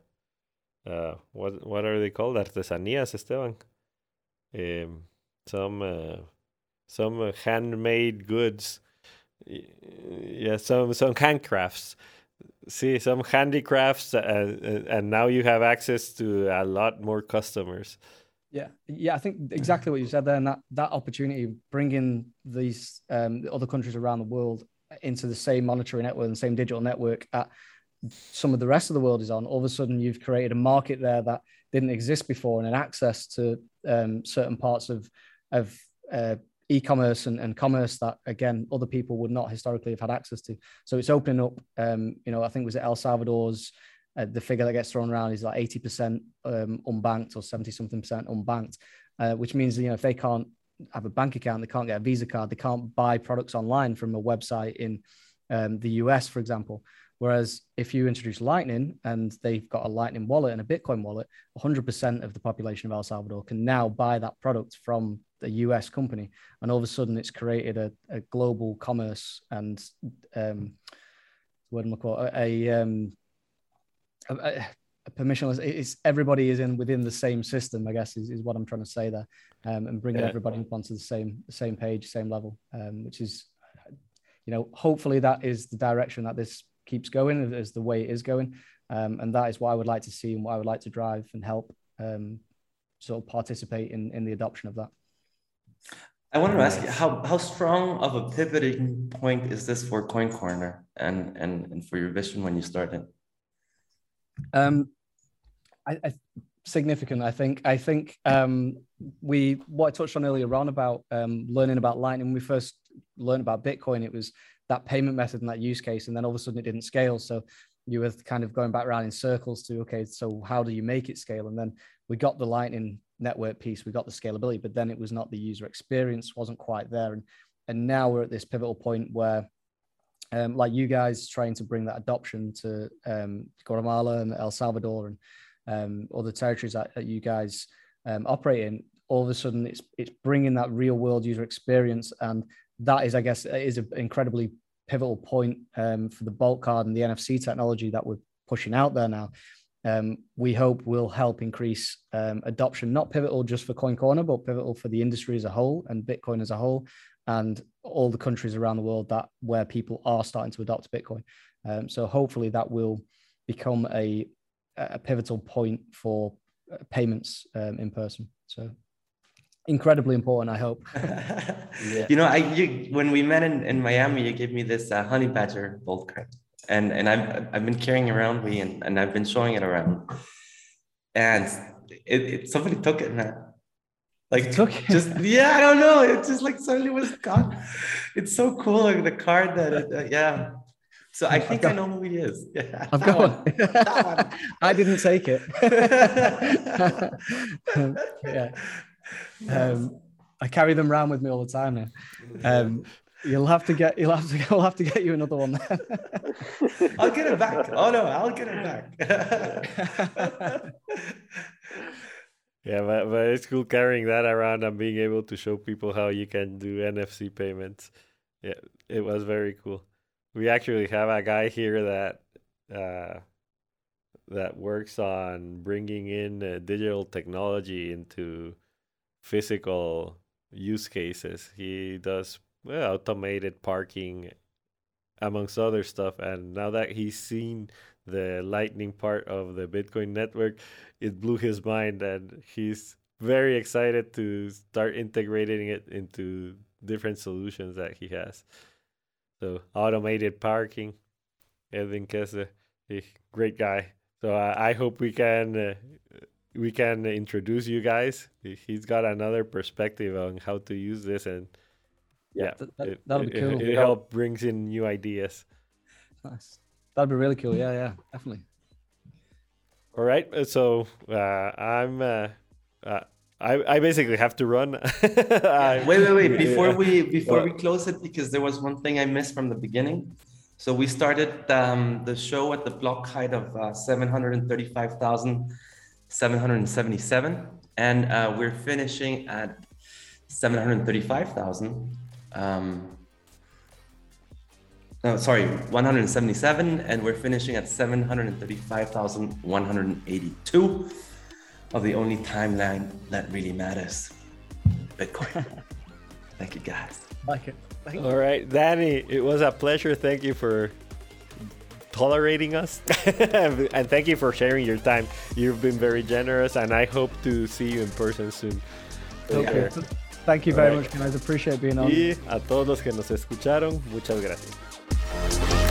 what are they called? Artesanías, Esteban. Some handmade goods. Yeah, some handcrafts. See, some handicrafts, and now you have access to a lot more customers. Yeah, I think exactly what you said there, and that opportunity, bringing these other countries around the world into the same monetary network and same digital network that some of the rest of the world is on. All of a sudden, you've created a market there that didn't exist before, and an access to certain parts of e-commerce and commerce that, again, other people would not historically have had access to. So it's opening up, I think was it El Salvador's, the figure that gets thrown around is 80% unbanked or 70-something% unbanked, which means, if they can't have a bank account, they can't get a Visa card, they can't buy products online from a website in the US, for example. Whereas if you introduce Lightning and they've got a Lightning wallet and a Bitcoin wallet, 100% of the population of El Salvador can now buy that product from the US company. And all of a sudden it's created a global commerce and what am I call a permissionless. It's everybody is within the same system, I guess, is what I'm trying to say there, and bringing everybody up onto the same page, same level, which is, hopefully that is the direction that this keeps going, as the way it is going, and that is what I would like to see and what I would like to drive and help sort of participate in the adoption of that. I wanted to ask you, how strong of a pivoting point is this for Coin Corner and for your vision when you started? Significant. I think what I touched on earlier on about learning about Lightning. When we first learned about Bitcoin, it was that payment method and that use case, and then all of a sudden it didn't scale. So you were kind of going back around in circles to, okay, so how do you make it scale? And then we got the Lightning network piece, we got the scalability, but then it was not the user experience, wasn't quite there. And now we're at this pivotal point where like you guys trying to bring that adoption to Guatemala and El Salvador and other territories that you guys operate in, all of a sudden it's bringing that real world user experience. And that is, I guess, is an incredibly pivotal point for the Bolt card and the NFC technology that we're pushing out there now. We hope will help increase adoption, not pivotal just for Coin Corner, but pivotal for the industry as a whole and Bitcoin as a whole, and all the countries around the world where people are starting to adopt Bitcoin. So hopefully that will become a pivotal point for payments in person. So incredibly important, I hope. Yeah. When we met in Miami, you gave me this honey badger Bolt card, and I've been carrying around and I've been showing it around, and somebody took it, man. Like I don't know. It just like suddenly was gone. It's so cool, like the card that So I think I know who he is. Yeah, I've got one. I didn't take it. I carry them around with me all the time now. We'll have to get you another one then. I'll get it back. Oh no, I'll get it back. Yeah, but it's cool carrying that around and being able to show people how you can do NFC payments. Yeah, it was very cool. We actually have a guy here that works on bringing in digital technology into physical use cases. He does automated parking, amongst other stuff. And now that he's seen the Lightning part of the Bitcoin network, it blew his mind, and he's very excited to start integrating it into different solutions that he has. So automated parking, Edwin Kesse, a great guy. So I hope we can introduce you guys. He's got another perspective on how to use this, and that'll be cool. It helps brings in new ideas. Nice. That'd be really cool. Yeah, definitely. All right. So I basically have to run. Wait. Before we close it, because there was one thing I missed from the beginning. So we started the show at the block height of 735,777, and we're finishing at 735,000. 177, and we're finishing at 735,182 of the only timeline that really matters, Bitcoin. Thank you, guys. Like it. All right, Danny, it was a pleasure. Thank you for tolerating us, and thank you for sharing your time. You've been very generous, and I hope to see you in person soon. Okay. Thank you very much, guys. Appreciate being on. Y a todos los que nos escucharon, muchas gracias.